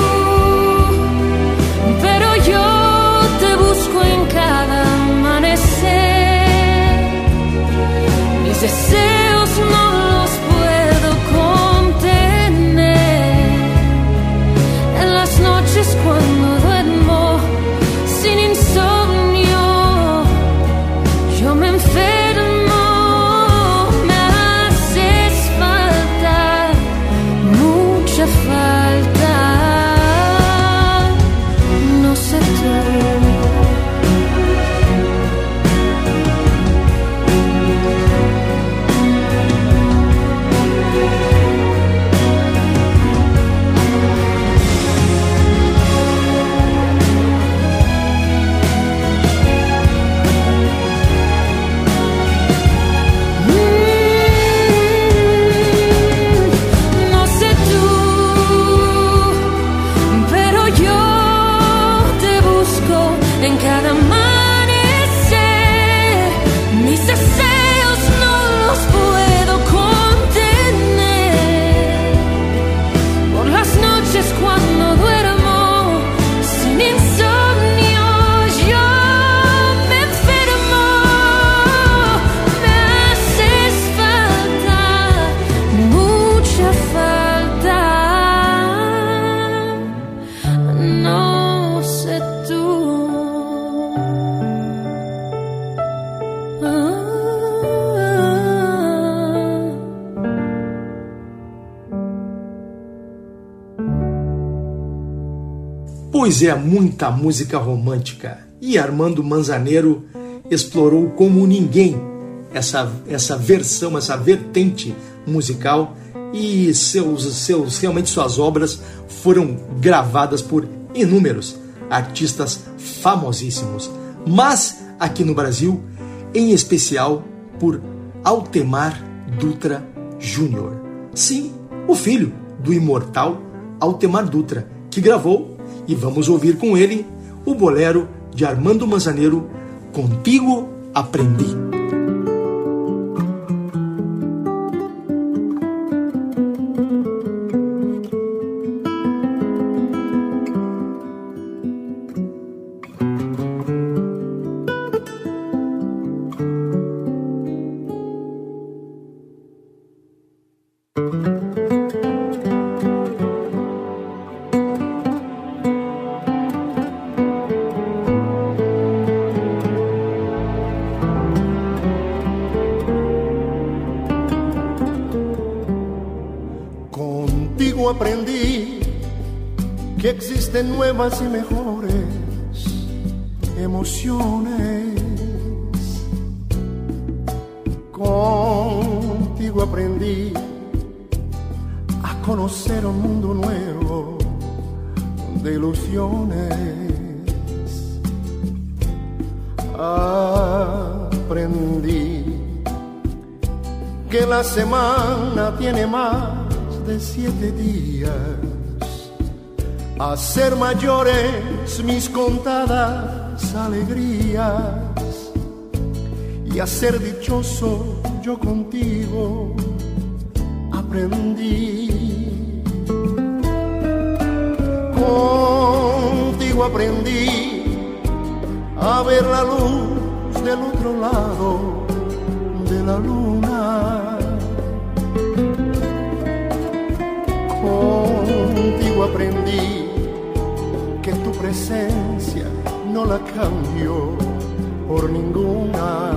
pero yo te busco en cada amanecer. Mis deseos no los puedo contener. En las noches cuando duermo sin insomnio, yo me enfermo. Me haces falta, mucha falta. No sé tú. No sé tú, pero yo te busco en cada amanecer. Mis deseos no los puedo contener. Por las noches cuando duermo sin insomnio, yo me enfermo. Me haces falta, mucha falta. No sé tú. Pois é, muita música romântica. E Armando Manzanero explorou como ninguém essa versão, essa vertente musical, e realmente suas obras foram gravadas por inúmeros artistas famosíssimos. Mas aqui no Brasil, em especial por Altemar Dutra Jr. Sim, o filho do imortal Altemar Dutra, que gravou, e vamos ouvir com ele, o bolero de Armando Manzanero, Contigo Aprendi. Contigo aprendí que existen nuevas y mejores emociones. Contigo aprendí a conocer un mundo nuevo de ilusiones. Aprendí que la semana tiene más de 7 días, a ser mayores mis contadas alegrías y a ser dichoso yo contigo aprendí. Contigo aprendí a ver la luz del otro lado de la luna. Contigo aprendí que tu presencia no la cambio por ninguna.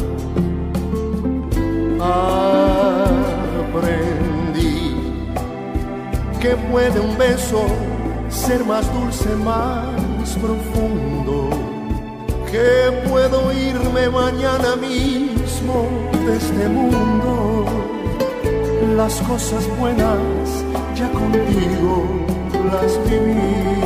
Aprendí que puede un beso ser más dulce, más profundo, que puedo irme mañana mismo de este mundo. Las cosas buenas ya contigo las viví.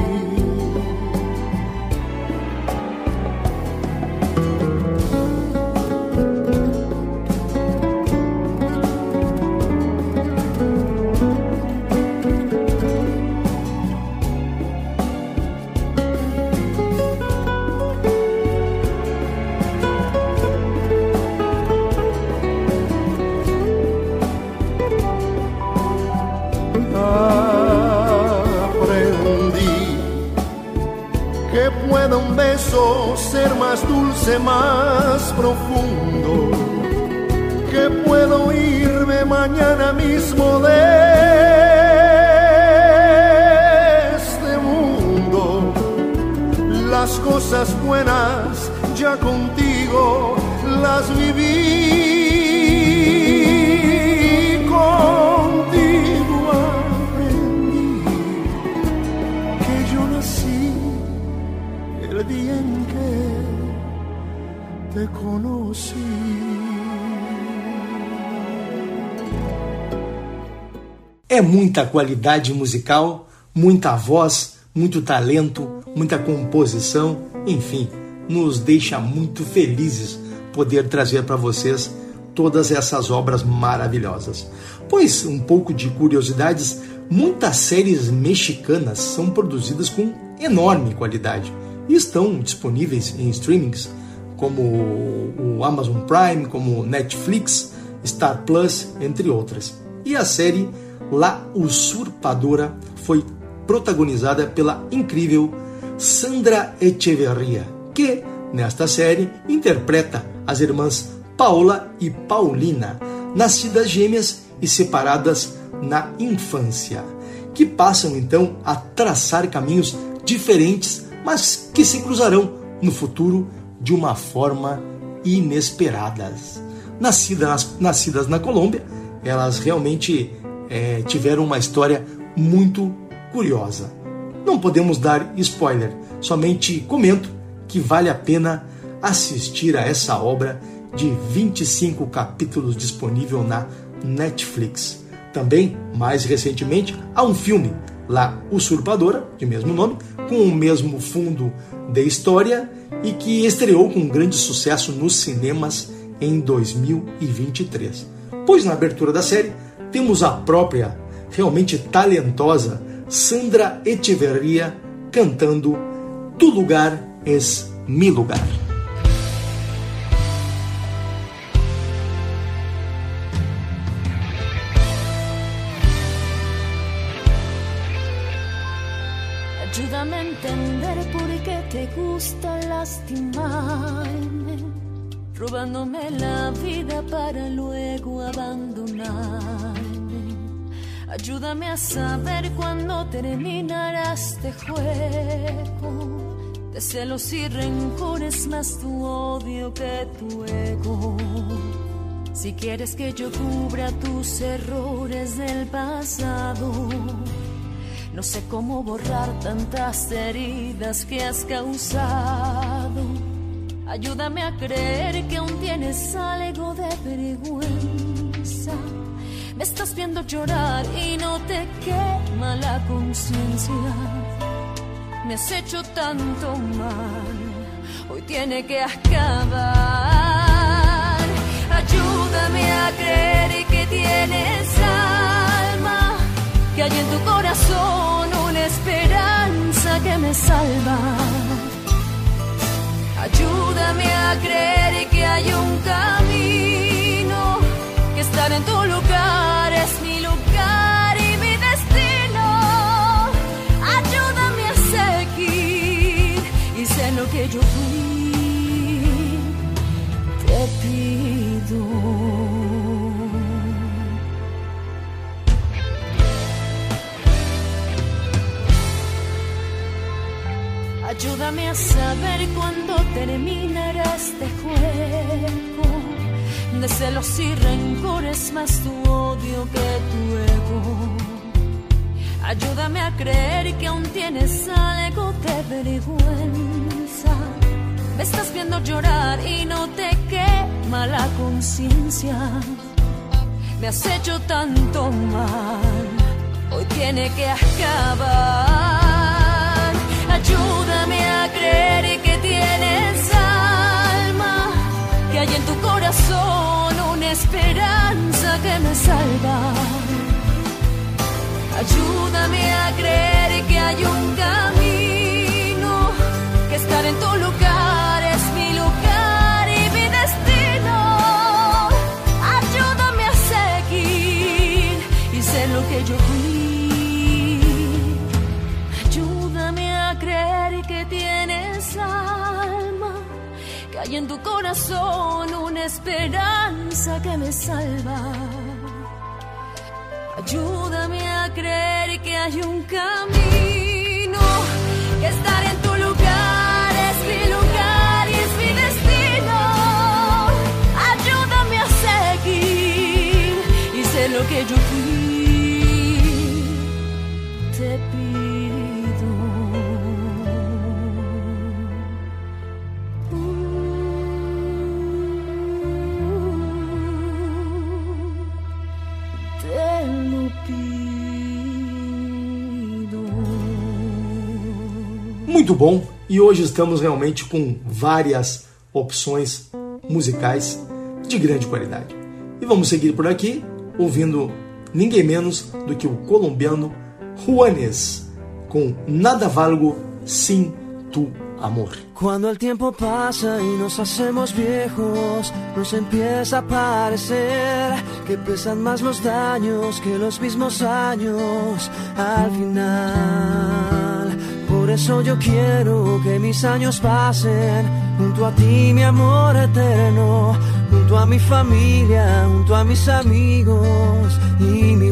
Ser más dulce, más profundo, que puedo irme mañana mismo de este mundo. Las cosas buenas ya contigo las viví. Contigo aprendí que yo nací el día en que te conocí. É muita qualidade musical, muita voz, muito talento, muita composição, enfim, nos deixa muito felizes poder trazer para vocês todas essas obras maravilhosas. Pois, um pouco de curiosidades, muitas séries mexicanas são produzidas com enorme qualidade e estão disponíveis em streamings como o Amazon Prime, como Netflix, Star Plus, entre outras. E a série La Usurpadora foi protagonizada pela incrível Sandra Echeverría, que, nesta série, interpreta as irmãs Paola e Paulina, nascidas gêmeas e separadas na infância, que passam então a traçar caminhos diferentes, mas que se cruzarão no futuro de uma forma inesperada. Nascidas na Colômbia, elas realmente tiveram uma história muito curiosa. Não podemos dar spoiler, somente comento que vale a pena assistir a essa obra de 25 capítulos disponível na Netflix. Também, mais recentemente, há um filme, La Usurpadora, de mesmo nome, com o mesmo fundo de história e que estreou com grande sucesso nos cinemas em 2023. Pois na abertura da série temos a própria, realmente talentosa Sandra Echeverría cantando Tu lugar es mi lugar. Ayúdame a entender por qué te gusta lastimarme, robándome la vida para luego abandonarme. Ayúdame a saber cuándo terminará este juego de celos y rencores, más tu odio que tu ego. Si quieres que yo cubra tus errores del pasado, no sé cómo borrar tantas heridas que has causado. Ayúdame a creer que aún tienes algo de vergüenza. Me estás viendo llorar y no te quema la conciencia. Me has hecho tanto mal, hoy tiene que acabar. Ayúdame a creer que tienes alma, que hay en tu corazón una esperanza que me salva. Ayúdame a creer que hay un camino, que estar en tu lugar es mi lugar y mi destino. Ayúdame a seguir y sé lo que yo fui, te pido. Ayúdame a saber cuándo terminará este juego de celos y rencores, más tu odio que tu ego. Ayúdame a creer que aún tienes algo de vergüenza. Me estás viendo llorar y no te quema la conciencia. Me has hecho tanto mal, hoy tiene que acabar. Ayúdame a creer que tienes alma, que hay en tu corazón una esperanza que me salva. Ayúdame a creer que hay un camino, que estar en tu lugar es mi lugar y mi destino. Ayúdame a seguir y ser lo que yo fui. Creer que tienes alma, que hay en tu corazón una esperanza que me salva. Ayúdame a creer que hay un camino, que estar en tu lugar es mi lugar y es mi destino. Ayúdame a seguir y sé lo que yo fui, te pido. Muito bom, e hoje estamos realmente com várias opções musicais de grande qualidade. E vamos seguir por aqui ouvindo ninguém menos do que o colombiano Juanes com Nada Valgo Sin Tu Amor. Cuando el tiempo pasa y nos hacemos viejos, nos empieza a parecer que pesan más los daños que los mismos años al final. Por eso yo quiero que mis años pasen junto a ti, mi amor eterno, junto a mi familia, junto a mis amigos y mi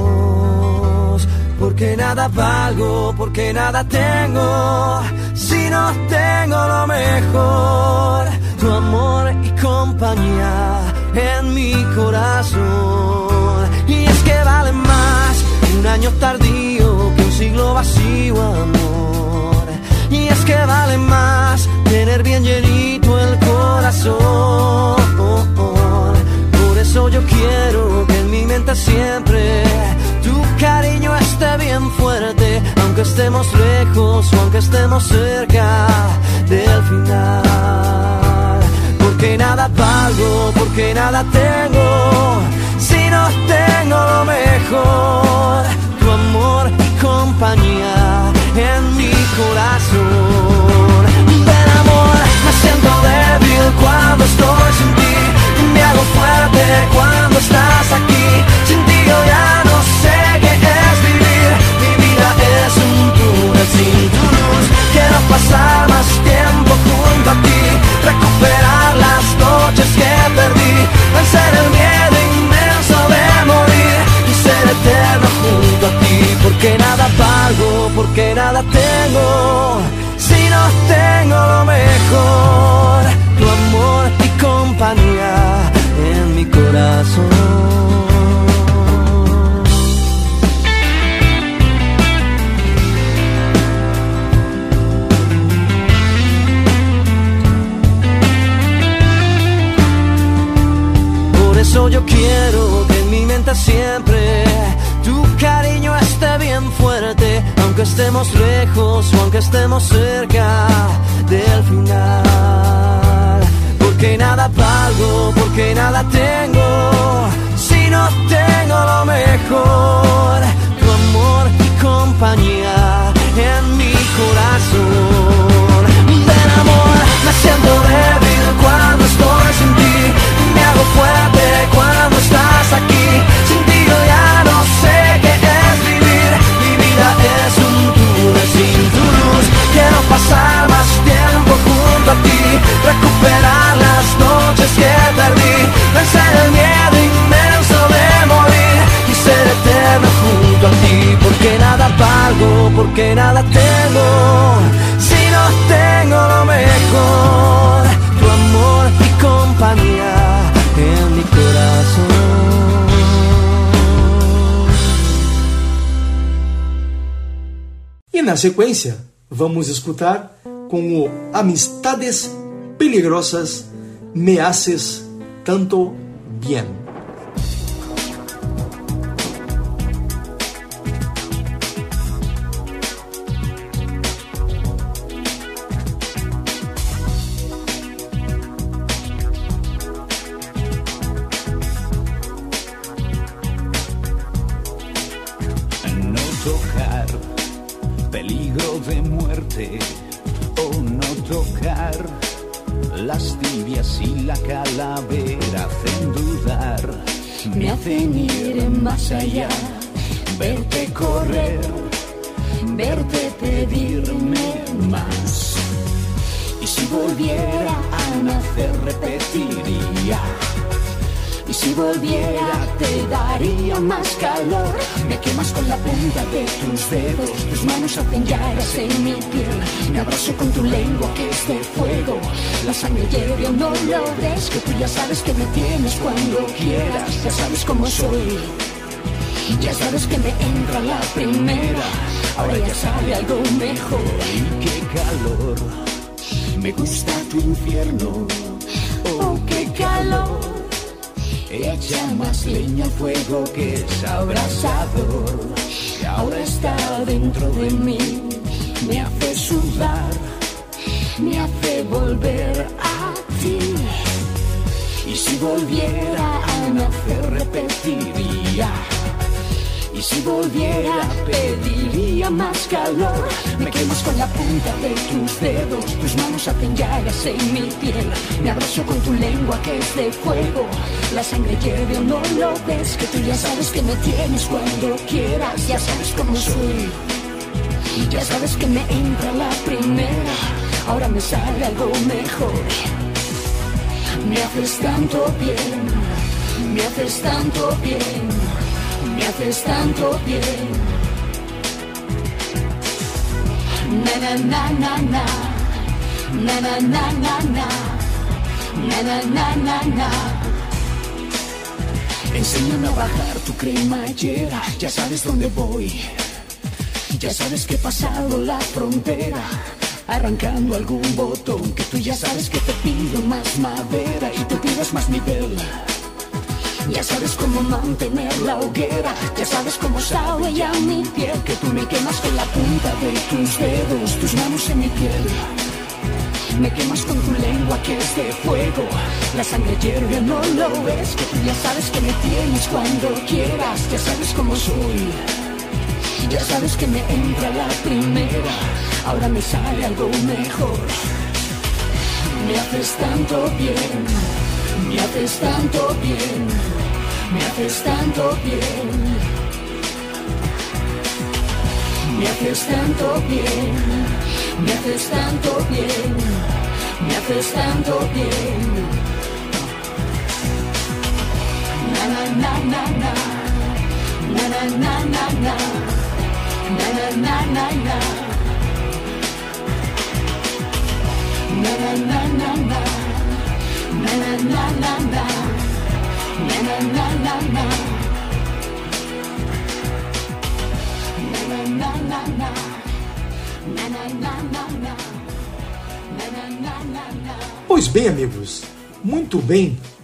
voz. Porque nada valgo, porque nada tengo, si no tengo lo mejor, tu amor y compañía en mi corazón. Y es que vale más un año tardío que un siglo vacío, amor. Y es que vale más tener bien llenito el corazón. Por eso yo quiero que en mi mente siempre tu cariño esté bien fuerte, aunque estemos lejos o aunque estemos cerca del final. Porque nada valgo, porque nada tengo, si no tengo lo mejor, tu amor y compañía en mi corazón. Ven amor, me siento débil cuando estoy sin ti, me hago fuerte cuando estás aquí. Sin ti yo ya no sé qué es vivir, mi vida es un túnel sin tu luz. Quiero pasar más tiempo junto a ti, recuperar las noches que perdí, vencer el miedo inmenso de morir y ser eterno junto a ti. Porque nada valgo, porque nada tengo, si no tengo lo mejor, tu amor y compañía en mi corazón. eso yo quiero que en mi mente siempre tu cariño esté bien fuerte, aunque estemos lejos o aunque estemos cerca del final. Porque nada valgo, porque nada tengo, si no tengo lo mejor, tu amor y compañía en mi corazón. Del amor me siento débil cuando estoy sin ti, me hago fuerte cuando estás aquí. Sin ti yo ya no sé qué es vivir, mi vida es un túnel sin tu luz. Quiero pasar más tiempo junto a ti, recuperar las noches que perdí, vencer el miedo inmenso de morir y ser eterno junto a ti. Porque nada valgo, porque nada tengo, si no tengo lo mejor, tu amor y compañía en mi corazón. E na sequência, vamos escutar com o Amistades Peligrosas, Me Haces Tanto Bien. Peligro de muerte o no tocar, las tibias y la calavera hacen dudar, me hacen ir más allá, verte correr, verte pedirme más. Y si volviera a nacer repetiría, y si volviera te daría más calor. me quemas con la punta de tus dedos, tus manos hacen llagas en mi piel, me abrazo con tu lengua que es de fuego, La sangre hierve, no lo ves, que tú ya sabes que me tienes cuando quieras. Ya sabes cómo soy, ya sabes que me entra la primera, ahora ya sabe algo mejor. Y qué calor, me gusta tu infierno, oh qué calor. Echa más leña al fuego que es abrasador, y ahora está dentro de mí, me hace sudar, me hace volver a ti. Y si volviera a nacer repetiría, y si volviera pediría más calor. me quemas con la punta de tus dedos, tus manos hacen llagas en mi piel, me abrazo con tu lengua que es de fuego, la sangre hierve, no lo ves, que tú ya sabes que me tienes cuando quieras. Ya sabes cómo soy, ya sabes que me entra la primera, ahora me sale algo mejor. me haces tanto bien, me haces tanto bien, me haces tanto bien. Na na na na na, na na na na na, na na na na na. Enséñame a bajar tu cremallera, ya sabes dónde voy, ya sabes que he pasado la frontera, arrancando algún botón, que tú ya sabes que te pido más madera y tú pides más nivel. Ya sabes cómo mantener la hoguera, ya sabes cómo sabe ya mi piel, que tú me quemas con la punta de tus dedos, tus manos en mi piel, me quemas con tu lengua que es de fuego, la sangre hierve, no lo ves, que tú ya sabes que me tienes cuando quieras. ya sabes cómo soy, ya sabes que me entra la primera, ahora me sale algo mejor. Me haces tanto bien, me haces tanto bien, me haces tanto bien, me haces tanto bien, me haces tanto bien, me haces tanto bien. Na na na na na, na na na na na, na na na na na, na na na na na, na na na na na, na na na na na, na na na na na, na na na na na, Pois bem, amigos, muito bem.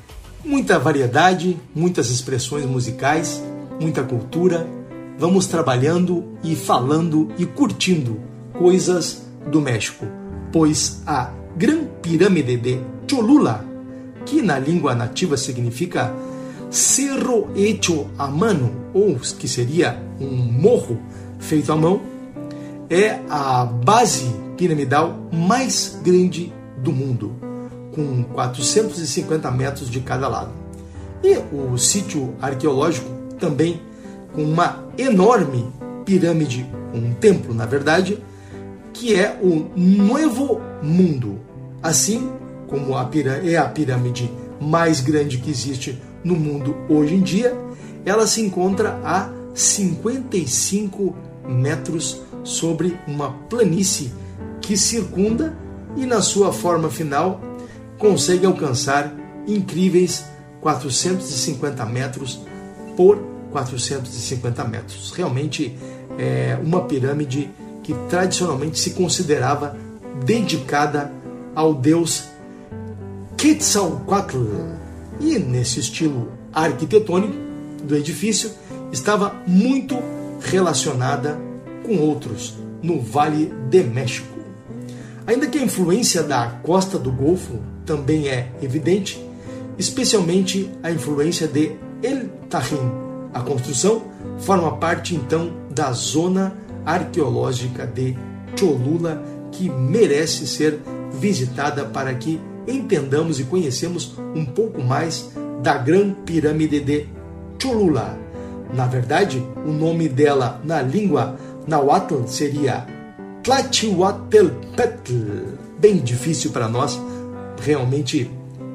Muita variedade, muitas expressões musicais, muita cultura. Vamos trabalhando e falando e curtindo coisas do México, pois a Gran Pirâmide de Cholula, que na língua nativa significa cerro hecho a mano, ou que seria um morro feito à mão, é a base piramidal mais grande do mundo, com 450 metros de cada lado. E o sítio arqueológico também com uma enorme pirâmide, um templo, na verdade, que é o Novo Mundo, assim como é a pirâmide mais grande que existe no mundo hoje em dia. Ela se encontra a 55 metros sobre uma planície que circunda e, na sua forma final, consegue alcançar incríveis 450 metros por 450 metros. Realmente é uma pirâmide que tradicionalmente se considerava dedicada ao deus Quetzalcoatl. E nesse estilo arquitetônico do edifício estava muito relacionada com outros no Vale de México. Ainda que a influência da costa do Golfo também é evidente, especialmente a influência de El Tajín. A construção forma parte então da zona arqueológica de Cholula, que merece ser visitada para que entendamos e conhecemos um pouco mais da Gran Pirâmide de Cholula. Na verdade, o nome dela na língua nahuatl seria Tlachihuatelpetl, bem difícil para nós realmente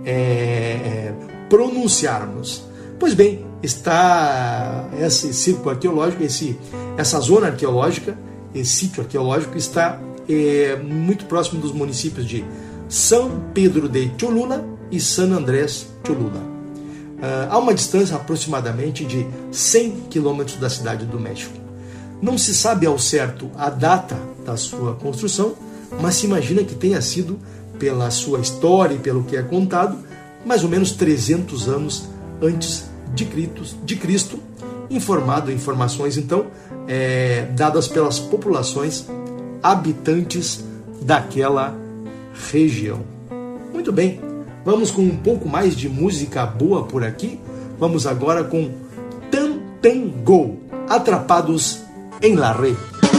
pronunciarmos. Pois bem, está esse círculo arqueológico, essa zona arqueológica, esse sítio arqueológico está muito próximo dos municípios de São Pedro de Cholula e San Andrés Cholula. Há uma distância aproximadamente de 100 quilômetros da cidade do México. Não se sabe ao certo a data da sua construção, mas se imagina que tenha sido, pela sua história e pelo que é contado, mais ou menos 300 anos antes de Cristo, informações então dadas pelas populações habitantes daquela região. Muito bem, vamos com um pouco mais de música boa por aqui. Vamos agora com Tantango, Atrapados em la Red.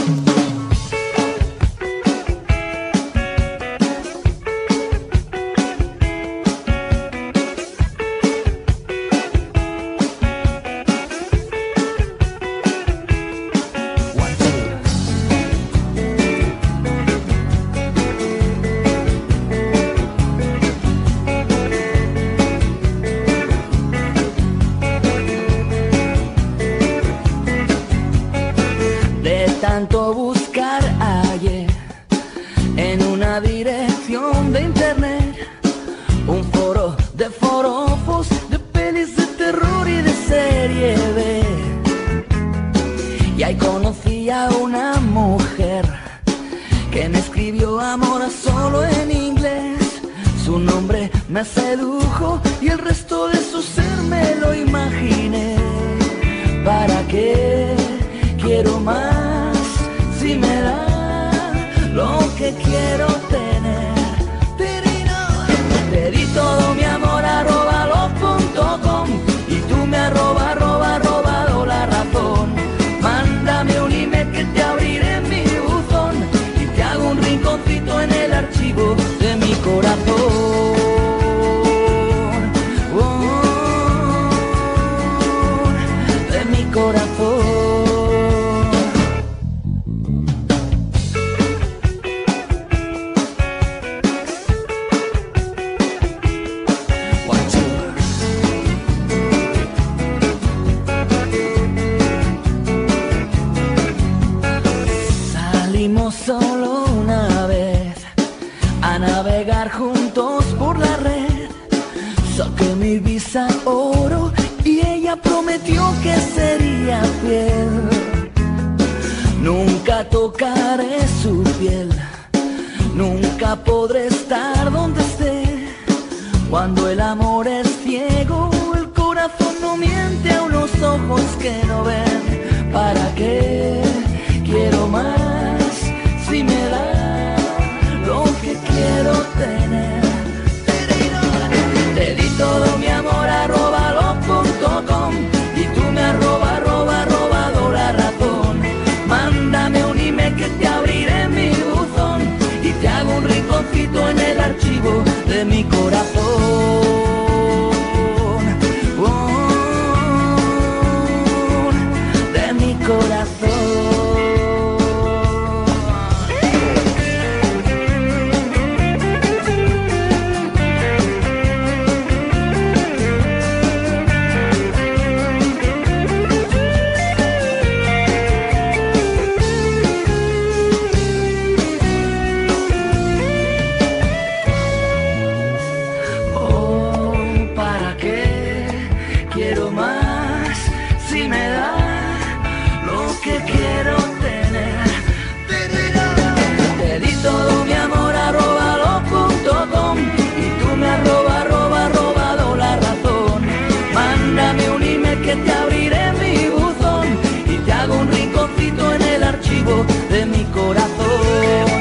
Tanto buscar hallé en una dirección de internet un foro de forofos, de pelis de terror y de serie B. Y ahí conocí a una mujer que me escribió amor solo en inglés. Su nombre me sedujo y el resto de su ser me lo imaginé. ¿Para qué quiero más? Si me da lo que quiero tener. Te di todo mi amor @lo.com y tú me robado la razón. Mándame un email que te abriré en mi buzón y te hago un rinconcito en el archivo de mi corazón. De mi corazón. Solo una vez a navegar juntos por la red. Saqué mi visa oro y ella prometió que sería fiel. Nunca tocaré su piel, nunca podré estar donde esté. Cuando el amor es ciego corazón no miente a unos ojos que no ven. ¿Para qué quiero más si me da lo que quiero tener? Te di todo mi amor @lo.com y tú me robado la razón. Mándame un email que te abriré mi buzón y te hago un rinconcito en el archivo de mi corazón. De mi corazón. Te abriré mi buzón y te hago un rinconcito en el archivo de mi corazón.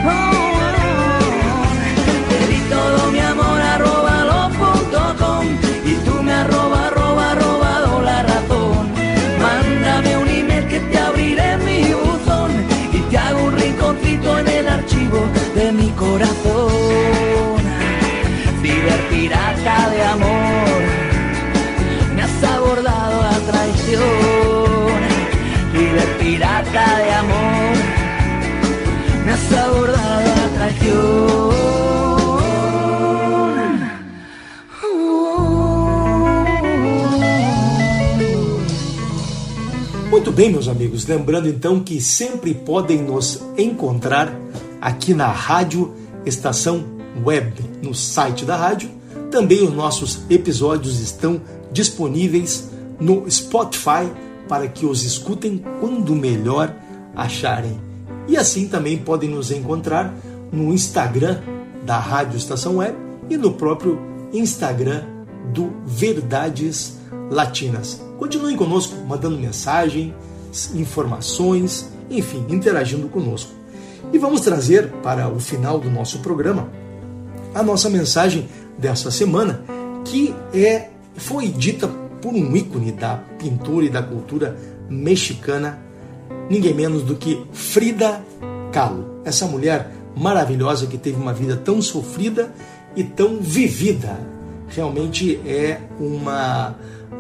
Te di todo mi amor @lo.com y tú me robado la razón. Mándame un email que te abriré mi buzón y te hago un rinconcito en el archivo de mi corazón. Ciberpirata de amor, me has abordado a traición. Ciberpirata de amor, me has abordado a traición. Muito bem, meus amigos, lembrando então que sempre podem nos encontrar aqui na Rádio Estação Web, no site da rádio. Também os nossos episódios estão disponíveis no Spotify para que os escutem quando melhor acharem. E assim também podem nos encontrar no Instagram da Rádio Estação Web e no próprio Instagram do Verdades Latinas. Continuem conosco, mandando mensagens, informações, enfim, interagindo conosco. E vamos trazer para o final do nosso programa a nossa mensagem dessa semana, que foi dita por um ícone da pintura e da cultura mexicana, ninguém menos do que Frida Kahlo. Essa mulher maravilhosa que teve uma vida tão sofrida e tão vivida. Realmente é uma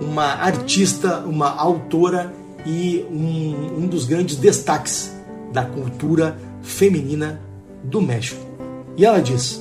artista, uma autora e um dos grandes destaques da cultura feminina do México. E ela diz: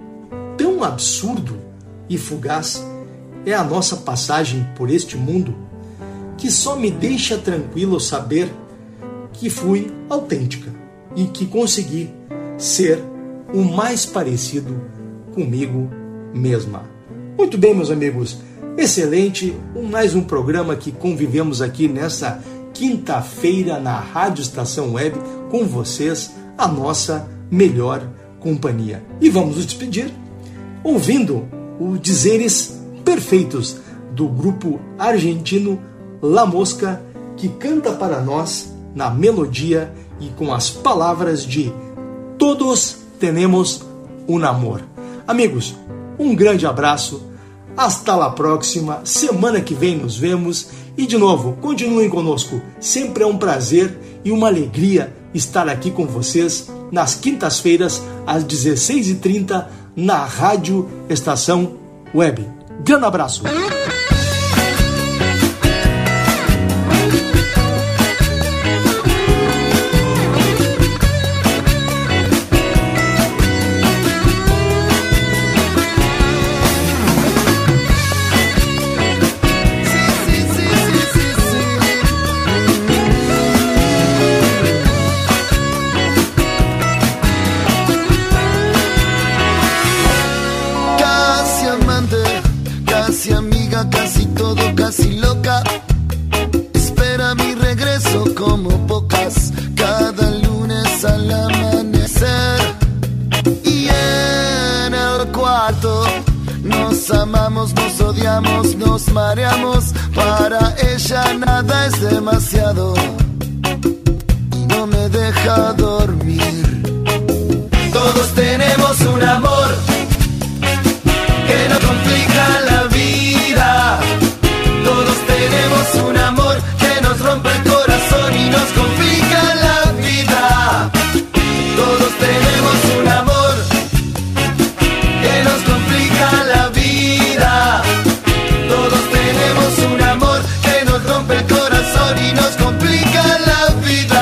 tão absurdo e fugaz é a nossa passagem por este mundo que só me deixa tranquilo saber que fui autêntica e que consegui ser o mais parecido comigo mesma. Muito bem, meus amigos, excelente, mais um programa que convivemos aqui nessa quinta-feira na Rádio Estação Web com vocês, a nossa melhor companhia. E vamos nos despedir ouvindo os dizeres perfeitos do grupo argentino La Mosca, que canta para nós na melodia e com as palavras de Todos tenemos un amor. Amigos, um grande abraço, hasta la próxima, semana que vem nos vemos e de novo, continuem conosco, sempre é um prazer e uma alegria estar aqui com vocês nas quintas-feiras às 16h30 na Rádio Estação Web. Grande abraço! Casi loca, espera mi regreso como pocas, cada lunes al amanecer. Y en el cuarto nos Nos amamos, nos odiamos, nos mareamos. Para ella nada es demasiado y no me deja dormir. Todos tenemos un amor que nos complica la vida. Todos tenemos un amor que nos rompe el corazón y nos complica la vida. Todos tenemos un amor que nos complica la vida. Todos tenemos un amor que nos rompe el corazón y nos complica la vida.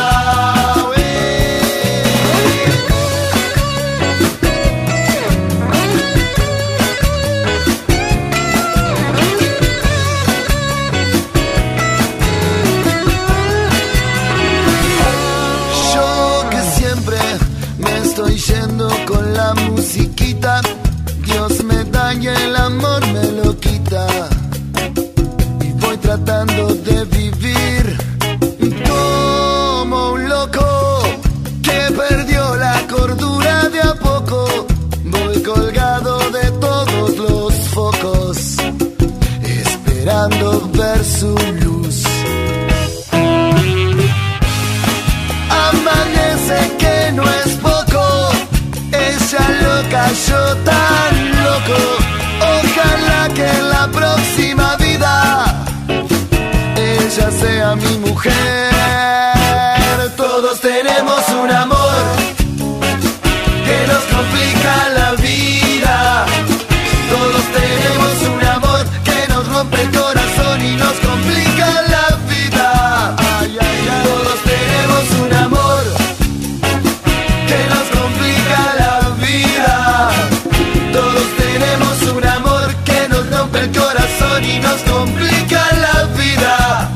Con la musiquita, Dios me da y el amor me lo quita. Y voy tratando de vivir como un loco que perdió la cordura de a poco. Voy colgado de todos los focos, esperando ver su luz. Amanece que no es poco. Ella loca, yo tan loco. Ojalá que en la próxima vida ella sea mi mujer. Todos tenemos un amor que nos complica la vida. Todos tenemos un amor que nos rompe el corazón y nos complica la vida. Ay, ay, ay. Todos tenemos un amor que nos complica la vida. Todos tenemos un amor que nos rompe el corazón y nos complica la vida.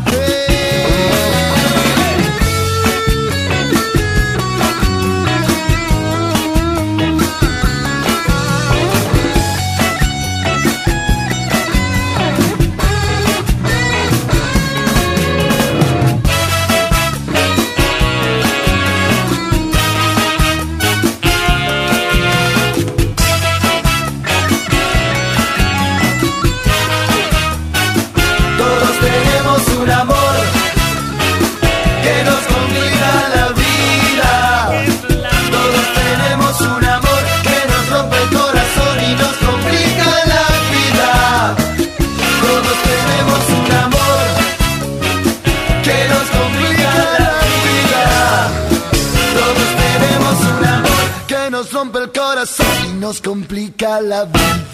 Rompe el corazón y nos complica la vida.